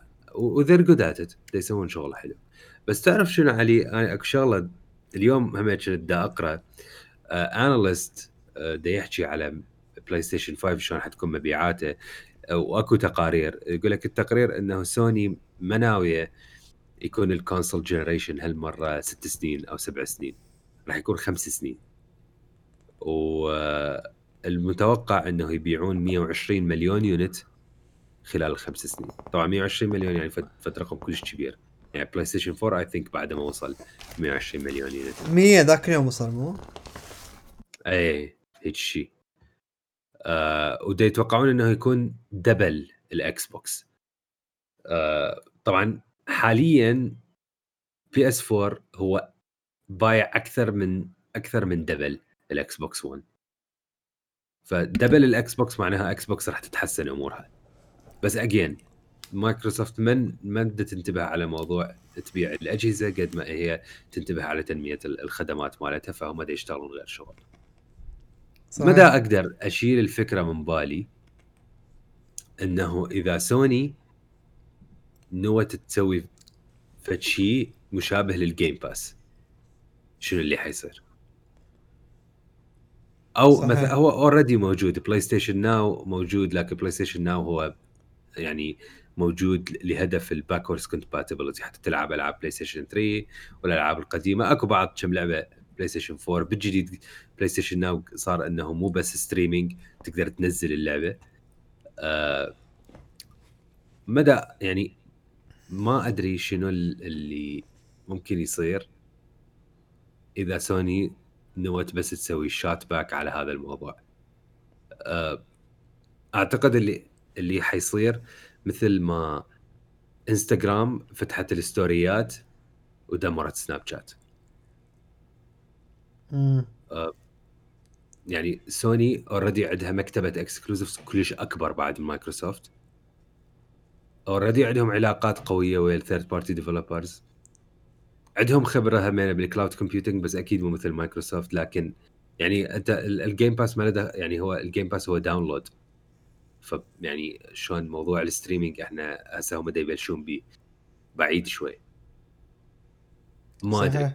و they're good at it يسوون شغل حلو. بس تعرف شنو علي انا اكو شغله اليوم هم كنت دا اقرا اناليست دا يحكي على بلاي ستيشن خمسة شلون حتكون مبيعاته. واكو تقارير يقول لك التقرير انه سوني مناويه يكون الكونسول جنريشن هالمره ست سنين او سبع سنين، راح يكون خمس سنين، والمتوقع انه يبيعون مية وعشرين مليون يونت خلال الخمس سنين. طبعا مية وعشرين مليون يعني فد رقم كلش كبير، يعني بلاي ستيشن فور اي ثينك بعد ما وصل مية وعشرين مليون يونت. مية ذاك اليوم وصل مو؟ ايه هيك شيء. آه ودا يتوقعون انه يكون دبل الاكس بوكس. آه طبعا حاليا بي اس فور هو بايع اكثر من اكثر من دبل الاكس بوكس ون، فدبل الاكس بوكس معناها اكس بوكس راح تتحسن امورها. بس اجين مايكروسوفت من ما بدها تنتبه على موضوع تبيع الاجهزه قد ما هي تنتبه على تنميه الخدمات مالتها، فهم دا يشتغلون غير شغل. صحيح. مدى اقدر اشيل الفكره من بالي انه اذا سوني نوت تسوي فشي مشابه للجيم باس شنو اللي حيصير؟ او صحيح. مثلا هو اوريدي موجود بلاي ستيشن ناو موجود، لكن بلاي ستيشن ناو هو يعني موجود لهدف الباكورد كومباتيبلتي، حتى تلعب العاب بلاي ستيشن ثري والالعاب القديمه. اكو بعض كم لعبه بلاي ستيشن فور. بالجديد بلاي ستيشن ناو صار انه مو بس ستريمينج، تقدر تنزل اللعبه. آه مدى يعني ما ادري شنو اللي ممكن يصير اذا سوني نوت بس تسوي شات باك على هذا الموضوع. آه اعتقد اللي اللي حيصير مثل ما انستغرام فتحت الستوريات ودمرت سناب شات. امم آه يعني سوني اوريدي عندها مكتبه اكسكلوزيفز كلش اكبر بعد مايكروسوفت. اوريدي عندهم علاقات قويه ويا الثيرد بارتي ديفلوبرز، عندهم خبره همينه بالكلاود كومبيوتنج، بس اكيد مو مثل مايكروسوفت. لكن يعني انت الجيم باس ما له، يعني هو الجيم باس هو داونلود، ف يعني شلون موضوع الستريمينج احنا هسه هم دا يبلشون بيه بعيد شوي. ما ادري.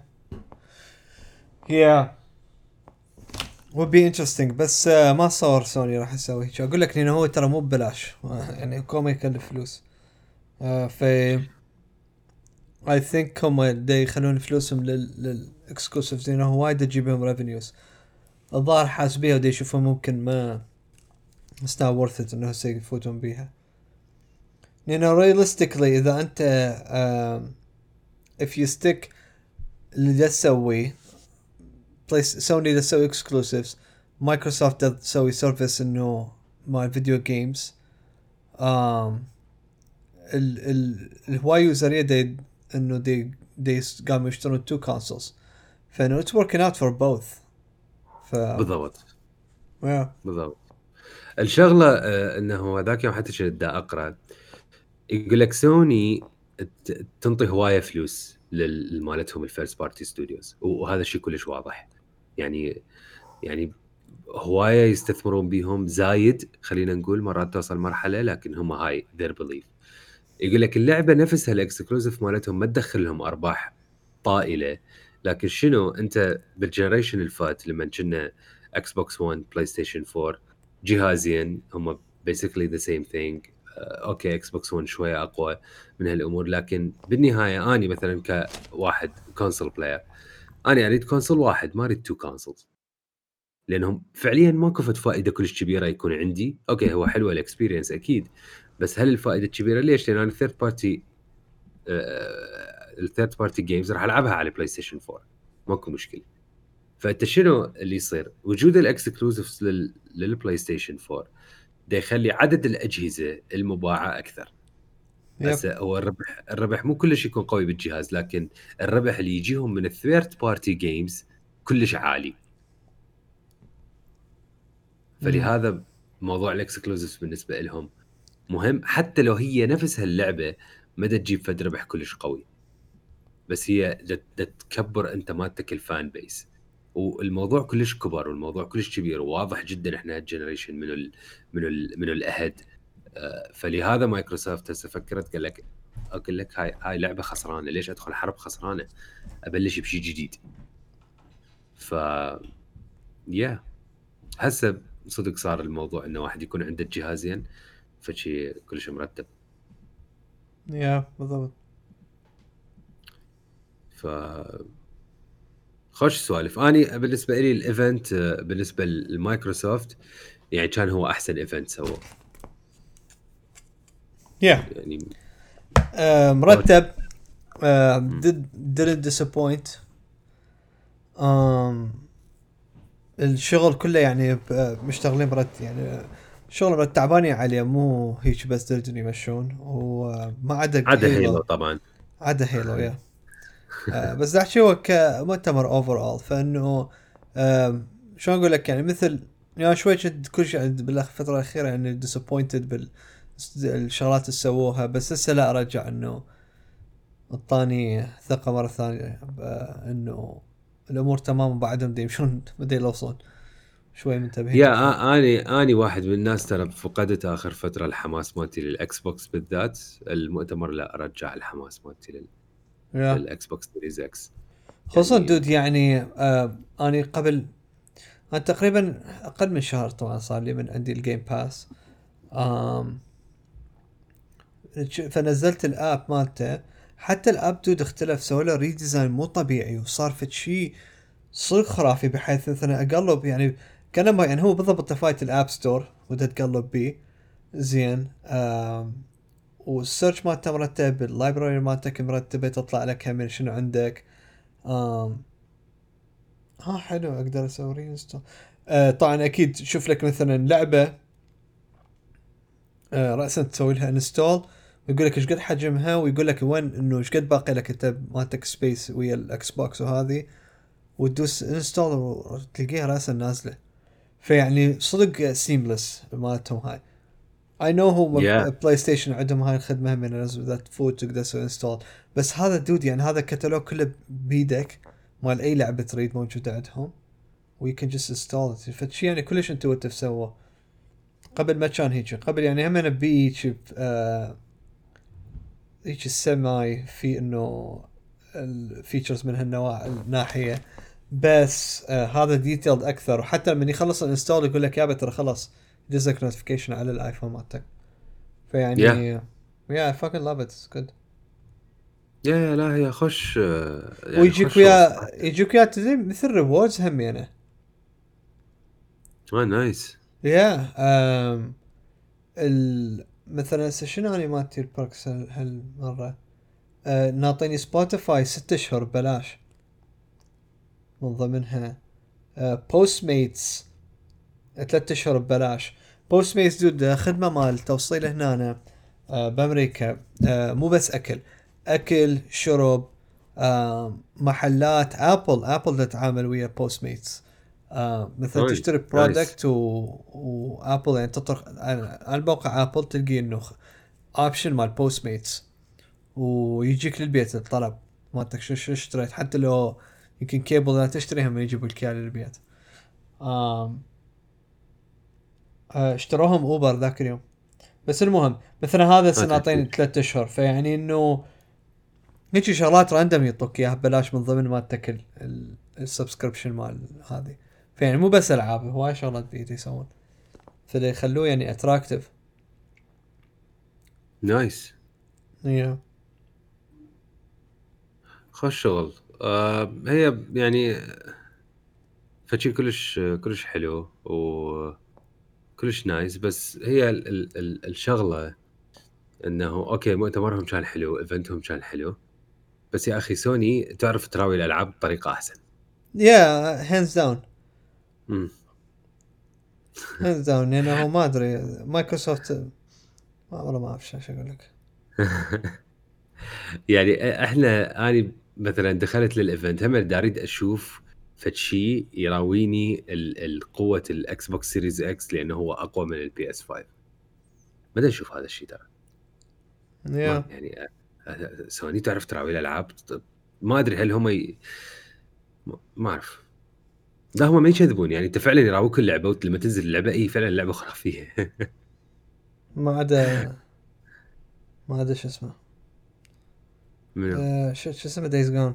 yeah would be interesting. بس آه ما صور سوني راح يسوي شو اقول لك، لانه هو ترى مو ببلاش يعني هو ما يكلف فلوس. آه في I think هم دا يخلون فلوسهم لل للاكسكلوسيفز لانه وايد تجيبهم ريفينيوز. الظاهر حاسبيها ودا يشوفون ممكن ما it's not worth it انه هسه يفوتون بيها، لانه realistically اذا انت um, if you stick اللي دا تسويه بلايس سوني دا تسوي اكسكلوسيفز، مايكروسوفت دا تسوي سيرفيس انه مال فيديو جيمز. um, ال ال الهواي يوزر يدا انه دي دي قاموا يشترون تو كونسولز، فانه it's working out for both. ف بالضبط yeah. بالضبط. الشغله آه انه ذاك يوم حتى كنت دا اقرا يقول لك سوني تنطي هوايه فلوس لمالتهم الفيرست بارتي ستوديوز، وهذا الشيء كلش واضح. يعني يعني هوايه يستثمرون بيهم زايد، خلينا نقول مرات توصل مرحله، لكن هم هاي their belief. يقول لك اللعبه نفسها الاكسكلوزيف مالتهم ما تدخل لهم ارباح طائله، لكن شنو انت بالجنريشن الفات لما كنا اكس بوكس ون بلاي ستيشن فور جهازين هم basically the same thing. اوكي اكس بوكس ون شويه اقوى من هالامور، لكن بالنهايه اني مثلا كواحد كونسول بلاير انا اريد كونسول واحد، ما اريد تو كونسولز، لانهم فعليا ماكو فد فائده كلش كبيره يكون عندي. اوكي هو حلوه الاكسبيرينس اكيد، بس هل الفائده الكبيره ليش؟ لان انا الثيرد بارتي الثيرد بارتي جيمز راح العبها على بلاي ستيشن فور، ماكو مشكله. فانت شنو اللي يصير؟ وجود الاكسكلوزيفز لل... للبلاي ستيشن فور ده يخلي عدد الاجهزه المباعه اكثر. هسه هو الربح الربح مو كلش يكون قوي بالجهاز، لكن الربح اللي يجيهم من الثيرد بارتي جيمز كلش عالي. فلهذا موضوع الاكسكلوزيفز بالنسبه لهم مهم، حتى لو هي نفسها اللعبه ما تجيب فد ربح كلش قوي، بس هي تكبر انت مالتك الفان بيس. والموضوع كلش كبر والموضوع كلش كبير وواضح جدا احنا هالجنريشن من ال من ال من الاهد. فلهذا مايكروسوفت هسه فكرت قال لك اقول لك هاي هاي لعبه خسرانه، ليش ادخل حرب خسرانه؟ ابلش بشيء جديد. ف يا هسه صدق صار الموضوع انه واحد يكون عنده جهازين، فشي كلش مرتب. يا بالضبط. ف خوش سوالف. اني بالنسبه لي الايفنت بالنسبه لمايكروسوفت يعني كان هو احسن ايفنت سووه يا يعني. آه مرتب. آه did didn't disappoint. آم الشغل كله يعني ب- مشتغلين برد يعني شغل برد تعبانين عليه مو هيك بس دردن يمشون وما عدا عدا هيلو هيلو. طبعا. عدا هيلو يا آه بس دا احكي هو كمؤتمر اوفر اول فانه آه شلون اقول لك يعني مثل يعني شوي كنت كل شيء بالفتره الاخيره يعني ديسابوينتد بالشغلات اللي سووها بس هسه لا ارجع انه الطاني ثقه مره ثانيه انه الامور تمام وبعدهم دي يمشون بدي يلوصون شوي منتبهين يا أكثر. آ- اني اني واحد من الناس ترى فقدت اخر فتره الحماس مالتي للاكس بوكس بالذات. المؤتمر لا ارجع الحماس مالتي لل... يا للاكس بوكس سيريز اكس خصوصا يعني. دود يعني آه اني قبل انا تقريبا اقل من شهر طبعا صار لي من عندي الجيم باس. آم فنزلت الاب مالته حتى الاب دود اختلف سوى له ريديزاين مو طبيعي وصار فد شيء صدق خرافي بحيث مثلا اقلب يعني كان ما يعني هو بالضبط تفايت الاب ستور ودا تقلب بيه زين. آم والسيرش مالته مرتب اللايبراري مالتك مرتبه تطلع لك هم شنو عندك. آم ها حلو اقدر اسوي رينستول. آه طبعا اكيد تشوف لك مثلا لعبه آه راسا تسوي لها انستول ويقول لك ايش قد حجمها ويقول لك وين انه ايش قد باقي لك انت مالتك سبيس ويا الاكس بوكس وهذه وتدوس انستول وتلقيها راسا نازله. فيعني صدق سيملس مالتهم هاي. اي نو هو يا بلاي ستيشن عندهم هاي الخدمه من ينزل ذات فوت تقدر تسوي انستول بس هذا دود يعني هذا كتالوج كله بيدك مال اي لعبه تريد موجوده عندهم وي كان جست انستول فشي يعني كلش انتويتيف سوى. قبل ما كان هيك قبل يعني هم انا بي هيك آه هيك السماي في انه الفيتشرز من هالنوع الناحيه بس آه هذا ديتيلد اكثر وحتى لما يخلص الانستول يقول لك يابا ترى خلص يدزك نوتيفيكيشن على الايفون مالتك. فيعني يا يا fucking love it it's good. يا يا لا هي خوش يعني ويجيك خوش شغل ويا صراحه. يجيك ويا تدري مثل ريوردز هم يعني. اه نايس. يا آم ال مثلا هسه شنو اني مالتي البركس هالمره آه ناطيني سبوتيفاي ست اشهر ببلاش من ضمنها آه بوست ميتس ثلاث اشهر ببلاش. بوست ميتس دود خدمه مال توصيل هنا آه بامريكا آه مو بس اكل اكل شرب آه محلات ابل ابل تتعامل ويا بوست ميتس. آه مثلا نايس تشتري نايس. برودكت و... وابل يعني تطرق على موقع ابل تلقي انه اوبشن مال بوست ميتس ويجيك للبيت الطلب مالتك شو شو اشتريت حتى لو يمكن كيبل لا تشتريها ما يجيبوا لك اياه للبيت. آم آه، اشتروهم اوبر ذاك اليوم. بس المهم مثلا هذا سنعطيني ثلاثة اشهر فيعني انه هيك شغلات راندم يعطوك اياها ببلاش من ضمن مالتك السبسكريبشن مال هذه. فيعني مو بس العاب هواي شغلات بيد يسوون فده يخلوه يعني اتراكتيف. نايس yeah. خوش شغل. آه هي يعني فشي كلش كلش حلو وكلش نايس. بس هي ال ال ال الشغله انه اوكي مؤتمرهم كان حلو ايفنتهم كان حلو بس يا اخي سوني تعرف تراوي الالعاب بطريقه احسن. yeah hands down امم hands down لانه ما ادري مايكروسوفت ما والله ما اعرف شو اقول لك. يعني احنا اني مثلا دخلت للايفنت هم دا اريد اشوف فشي يراويني القوه الاكس بوكس سيريز اكس لانه هو اقوى من البي اس خمسة. ما اشوف هذا الشيء ترى. ما yeah. يعني سوني تعرف تراوي الالعاب. ما ادري هل هم ي... ما اعرف. لا هم ما يكذبون يعني انت فعلا يراووك اللعبه لما تنزل اللعبه اي فعلا اللعبه خرافيه. ما عدا ما عدا شو اسمه منو؟ آه شو شو اسمه دايز جون.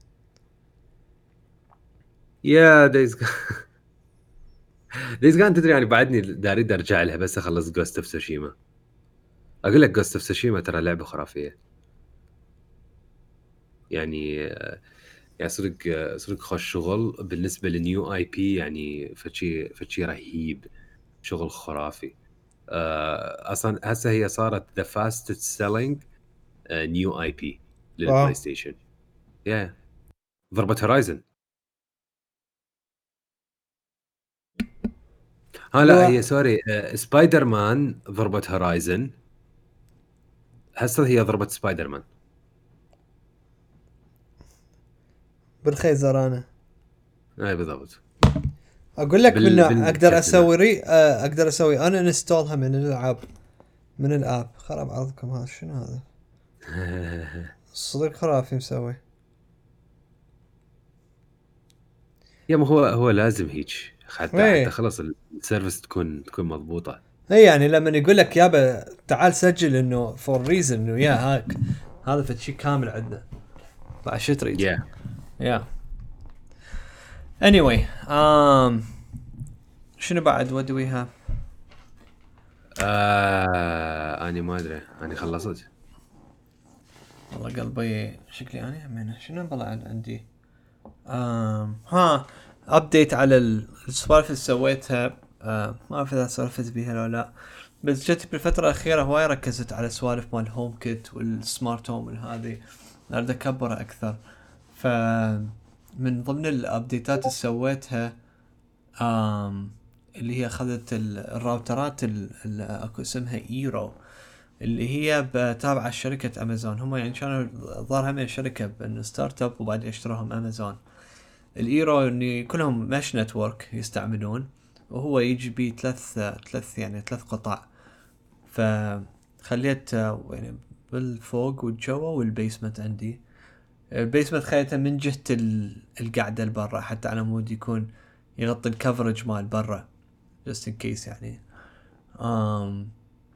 يا دايز جان. دايز جان تدري يعني بعدني دا اريد ارجع لها بس اخلص جوست اوف سوشيما. اقول لك جوست اوف تسوشيما ترى لعبه خرافيه يعني يعني صدق صدق خوش شغل بالنسبه للنيو اي بي يعني فشي فشي رهيب شغل خرافي آه، اصلا هسه هي صارت ذا فاستست سيلينج نيو اي بي للبلاي ستيشن يا ضربة هورايزن ها لا هي سوري آه، سبايدر مان ضربة هورايزن هسه هي ضربة سبايدر مان بالخيزر انا اي بالضبط اقول لك بال... منه اقدر بالشتنة. اسوي ري آه، اقدر اسوي انا انستولها من الالعاب من الاب خراب عرضكم هذا شنو هذا صدق خرافي مسوي يا ما هو هو لازم هيك حتى ايه حتى خلص السيرفيس تكون تكون مضبوطة اي يعني لما يقول لك يابا تعال سجل انه فور ريزن انه يا هاك هذا فشي كامل عندنا بعد شو تريد يا يا anyway um شنو بعد what do we have آه... اني ما ادري اني خلصت والله قلبي شكلي انا همينه شنو بلا عندي آم ها ابديت على السوالف اللي سويتها آه ما اعرف اذا سولفت بيها لو لا بس جت بالفترة الأخيرة هواي ركزت على سوالف مال هوم كيت والسمارت هوم هذه أريد أكبرها أكثر فمن ضمن الأبديتات اللي سويتها آم اللي هي أخذت الراوترات اللي أكو اسمها إيرو اللي هي تابعة شركة أمازون هم يعني كانوا ظهرها من شركة بأنه ستارت اب وبعدين اشتروهم أمازون الإيرو إني كلهم مش نتورك يستعملون وهو يجي بيه ثلاث ثلاث يعني ثلاث قطع فخليت يعني بالفوق والجوا والبيسمنت عندي البيسمنت خليته من جهة القعدة البرة حتى على مود يكون يغطي الكفرج مال برا just in case يعني um,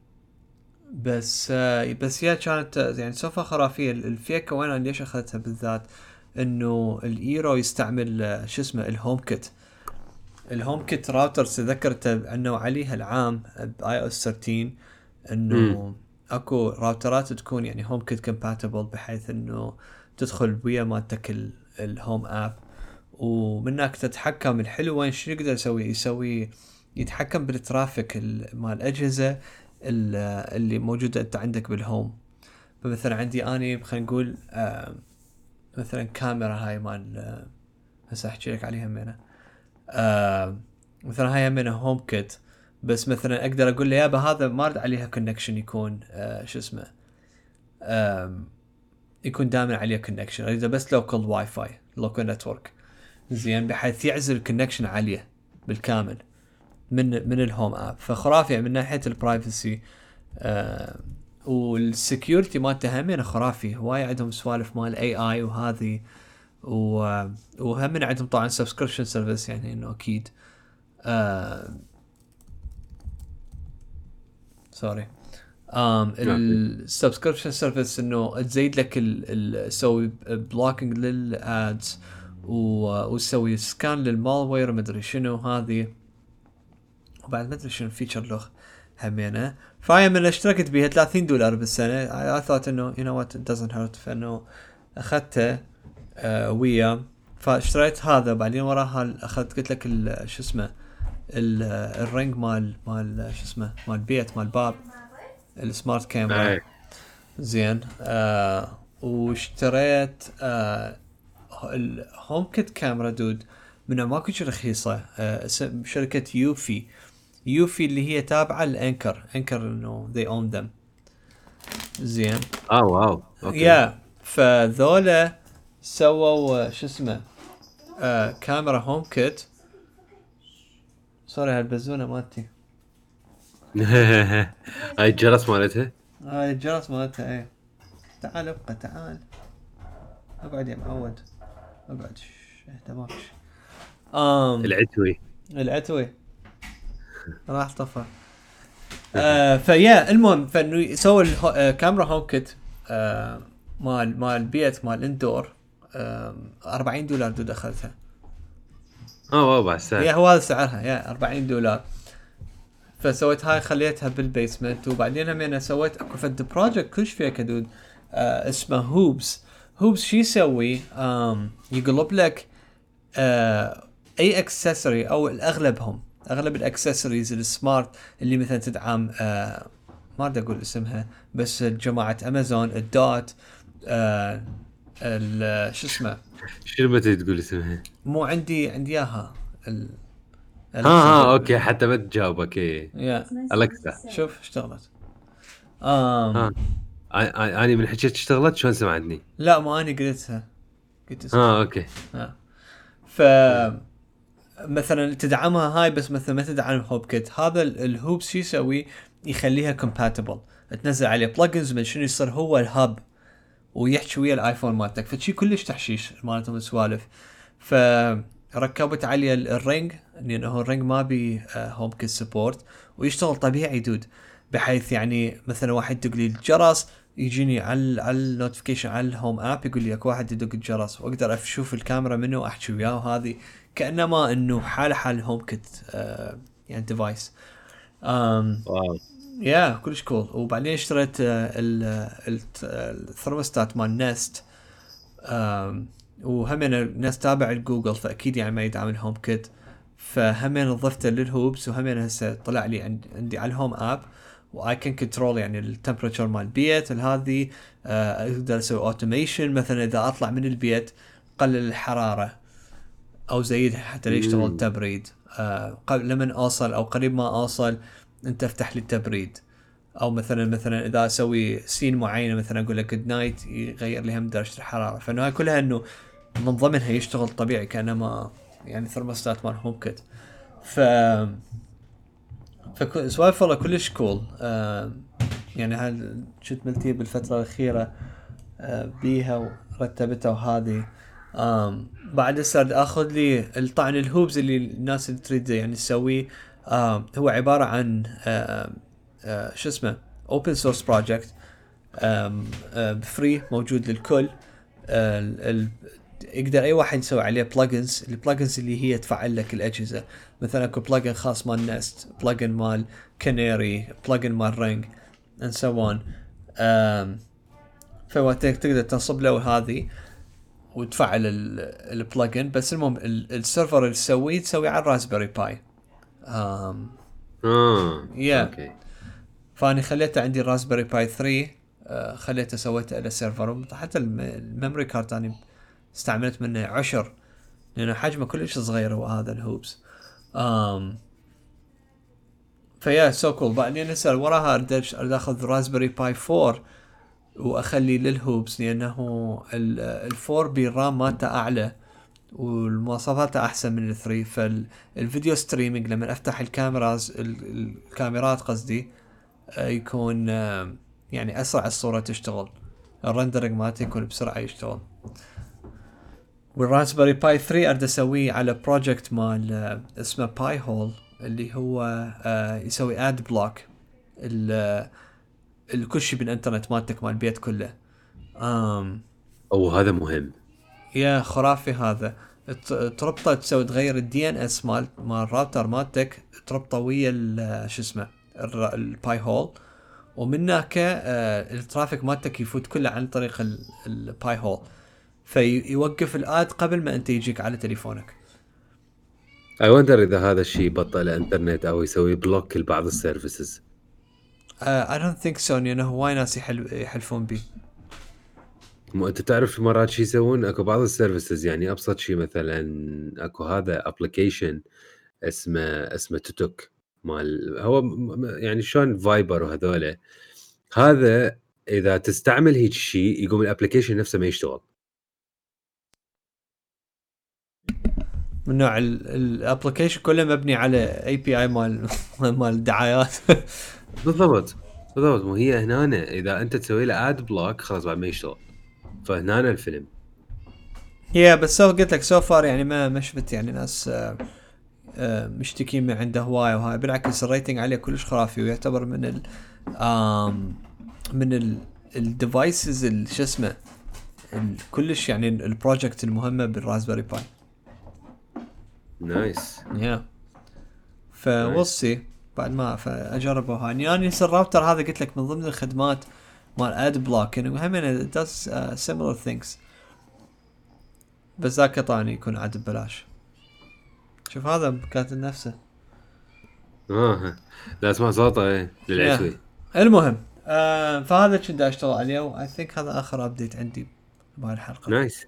بس بس هي كانت يعني سوفا خرافية الفيكة وين أنا ليش أخذتها بالذات إنه الإيرو يستعمل شو اسمه الهوم كيت الهوم كيت راوتر تذكرت انه عليها العام باي او اس ثلاثة عشر انه م. اكو راوترات تكون يعني هوم كيت كومباتبل بحيث انه تدخل ويا مالتك الهوم اب ومنك تتحكم الحلو وين شو يقدر يسوي يسوي يتحكم بالترافيك مال الاجهزه اللي موجوده انت عندك بالهوم فمثلا عندي اني خلينا نقول آه مثلا كاميرا هاي مال آه هسه احكي لك عليها منها آه مثلا هاي من هوم كيت بس مثلا اقدر اقول له يابا هذا ما ارد عليها كونكشن يكون آه شو اسمه آه يكون دائما عليه كونكشن اريد بس لوكال واي فاي لوكال نتورك زين بحيث يعزل الكونكشن عليه بالكامل من من الهوم اب فخرافي من ناحيه البرايفسي آه والسكيورتي مالته همين خرافي هواي عندهم سوالف مال اي اي وهذه وهم من عندهم طبعا سبسكريبشن سيرفيس يعني انه اكيد آه سوري ام السبسكريبشن سيرفيس انه تزيد لك تسوي بلوكينج للادز وتسوي سكان للمالوير مدري شنو هذه وبعد مدري شنو فيتشر له همينه فهي من اشتركت بيها ثلاثين دولار بالسنه I thought انه you know what it doesn't hurt فانه اخذته آه ويا فاشتريت هذا بعدين وراها اخذت قلت لك شو اسمه الرينج مال مال شو اسمه مال بيت مال باب السمارت كاميرا زين آه واشتريت آه الهوم كيت كاميرا دود منها ماكو شيء رخيصه آه شركه يوفي يوفي اللي هي تابعه لانكر انكر انه they own them زين اه واو اوكي يا فذولا سووا شو اسمه آه كاميرا هوم كيت سوري هالبزونه مالتي هاي الجرس مالتها هاي الجرس مالتها ايه تعال ابقى تعال اقعد يا معود اقعد اهدى ماكش ام العتوي العتوي راح طفى آه فيا المهم فانه يسوي الكاميرا هوم كيت آه مال مال بيت مال اندور آه أربعين دولار دود اخذتها اه واو السعر هي هو هذا سعرها يا أربعين دولار فسويت هاي خليتها بالبيسمنت. وبعدين هم انا سويت اكو فد بروجكت كلش فيها كدود آه اسمه هوبس. هوبس شي يسوي آم يقلب لك آه اي اكسسوري او الاغلبهم اغلب الاكسسوارز السمارت اللي مثلا تدعم آه ما ادري اقول اسمها بس جماعه امازون الدوت آه شو اسمه شنو بتي تقول اسمها؟ مو عندي عندي اياها ال ها ها اوكي حتى ما تجاوبك ايه يا الكسا. شوف اشتغلت. آم ها اني من حكيت اشتغلت شلون سمعتني؟ لا ما اني قلتها قلت اسمها. ها اوكي. ها ف مثلا تدعمها هاي بس مثلا ما تدعم هوب كيت. هذا ال- الهوب شو يسوي يخليها compatible تنزل عليه بلجنز من شنو يصير هو الهاب ويحكي ويا الايفون مالتك فشي كلش تحشيش مالتهم السوالف. فركبت عليه ال- الرينج لانه الرينج ما بي هوم كيت سبورت ويشتغل طبيعي دود بحيث يعني مثلا واحد يدق لي الجرس يجيني على على النوتيفيكيشن على الهوم اب يقول لي اكو واحد يدق الجرس واقدر اشوف الكاميرا منه واحكي وياه. وهذه كانما انه حال حال هوم كيت آه يعني ديفايس. امم واو يا كلش كول. وبعدين اشتريت آه ال- ال- الثرموستات مال نست وهمين ناس تابع الجوجل فاكيد يعني ما يدعم الهوم كيت. فهمين ضفته للهوبس وهمين هسه طلع لي عندي, عندي على الهوم اب واي كان كنترول يعني التمبريتشر مال البيت هذه. آه، اقدر اسوي اوتوميشن مثلا اذا اطلع من البيت قلل الحراره او زيدها حتى يشتغل مم. التبريد. آه، قبل لمن اوصل او قريب ما اوصل انت افتح لي التبريد. او مثلا مثلا اذا اسوي سين معينه مثلا اقول لك جود نايت يغير لي هم درجه الحراره. فانه هاي كلها انه من ضمنها يشتغل طبيعي كانما يعني ثرموستات مال هوم كيت. ف فسوالف والله كلش كول. آه يعني هاي شفت ملتي بالفتره الاخيره آه بيها ورتبتها وهذه. آم بعد هسه اخذ لي الطعن الهوبز اللي الناس اللي تريد يعني تسويه. آه هو عباره عن آه آه شو اسمه اوبن سورس بروجكت فري موجود للكل. آه ال يقدر اي واحد يسوي عليه بلجنز. البلجنز اللي هي تفعل لك الاجهزه مثلا اكو بلجن خاص مال نست بلجن مال كانيري بلجن مال رينج and so on. فوقت تقدر تنصب له هذه وتفعل البلجن. بس المهم السيرفر اللي تسويه تسوي على الراسبيري باي. امم اه يا اوكي. فاني خليته عندي الراسبيري باي ثري. آه خليته سويته على سيرفر حتى الميموري كارت اني استعملت منه عشر لانه حجمه كلش صغير هو هذا الهوبس. امم فيا سو كول. بعدين هسه وراها اريد اخذ راسبيري باي فور واخلي للهوبس لانه الفور بالرام مالته اعلى والمواصفات احسن من الثري. فالفيديو ستريمينج لما افتح الكاميراز الكاميرات قصدي يكون يعني اسرع الصورة تشتغل. الرندرنج مالته يكون بسرعة يشتغل. والراسبيري باي ثري اريد اسويه على بروجكت مال اسمه باي هول اللي هو يسوي اد بلوك الكل شيء بالانترنت مالتك مال البيت كله. امم او هذا مهم. يا خرافي هذا. تربطه تسوي تغير الدي ان اس مال مال الراوتر مالتك تربطه ويا شو اسمه الباي هول ومن هناك آه الترافيك مالتك يفوت كله عن طريق الباي هول فيوقف الاد قبل ما انت يجيك على تليفونك. اي وندر اذا هذا الشيء بطل انترنت او يسوي بلوك لبعض السيرفيسز. اي دونت ثينك سو انه هواي ناس يحل يحلفون بيه. مو انت تعرف مرات شي يسوون اكو بعض السيرفيسز يعني ابسط شيء مثلا اكو هذا ابلكيشن اسمه اسمه توتوك مال هو يعني شلون فايبر وهذوله. هذا اذا تستعمل هيك شيء يقوم الابلكيشن نفسه ما يشتغل. من نوع الابلكيشن كله مبني على اي بي اي مال مال الدعايات. بالضبط بالضبط. مو هي هنا اذا انت تسوي له اد بلوك خلاص بعد ما يشتغل. فهنا الفيلم يا بس سو قلت لك سو فار يعني ما ما شفت يعني ناس آه آه مشتكين من عنده هواي وهاي. بالعكس الريتنج عليه كلش خرافي ويعتبر من ال آم من ال الديفايسز شو اسمه كلش يعني البروجكت المهمه بالراسبيري باي. نايس. يا فوصي بعد ما فاجربه هاني يعني الراوتر هذا قلت لك من ضمن الخدمات مال اد بلوك يعني هم does uh, similar things بس ذاك طاني يكون عاد ببلاش. شوف هذا كاتب نفسه اه لا اسمع صوته ايه للعشوي. yeah. المهم آه فهذا كنت اشتغل عليه واي ثينك هذا اخر ابديت عندي بهاي الحلقه. نايس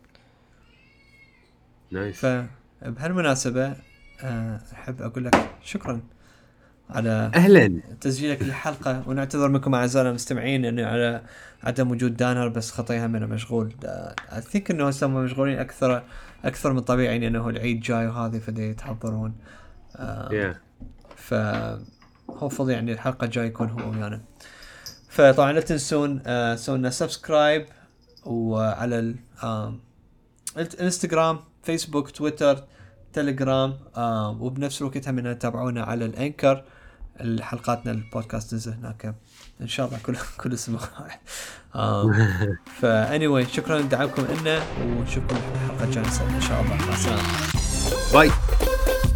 نايس. فبهالمناسبه آه احب اقول لك شكرا على اهلا تسجيلك للحلقه ونعتذر منكم اعزائنا المستمعين انه على عدم وجود دانر بس خطيها منه مشغول. اي ثينك انه هسه مشغولين اكثر اكثر من طبيعي لانه العيد جاي وهذه فدي يتحضرون. آه yeah. ف هوفض يعني الحلقه الجايه يكون هو ويانا. فطبعا لا تنسون آه سوينا سبسكرايب وعلى الانستغرام فيسبوك تويتر تليجرام آه وبنفس الوقت هم تتابعونا على الانكر الحلقاتنا البودكاست تنزل هناك ان شاء الله كل كل اسبوع. فا anyway شكرا لدعمكم لنا ونشوفكم الحلقه الجايه ان شاء الله. مع السلامه. باي.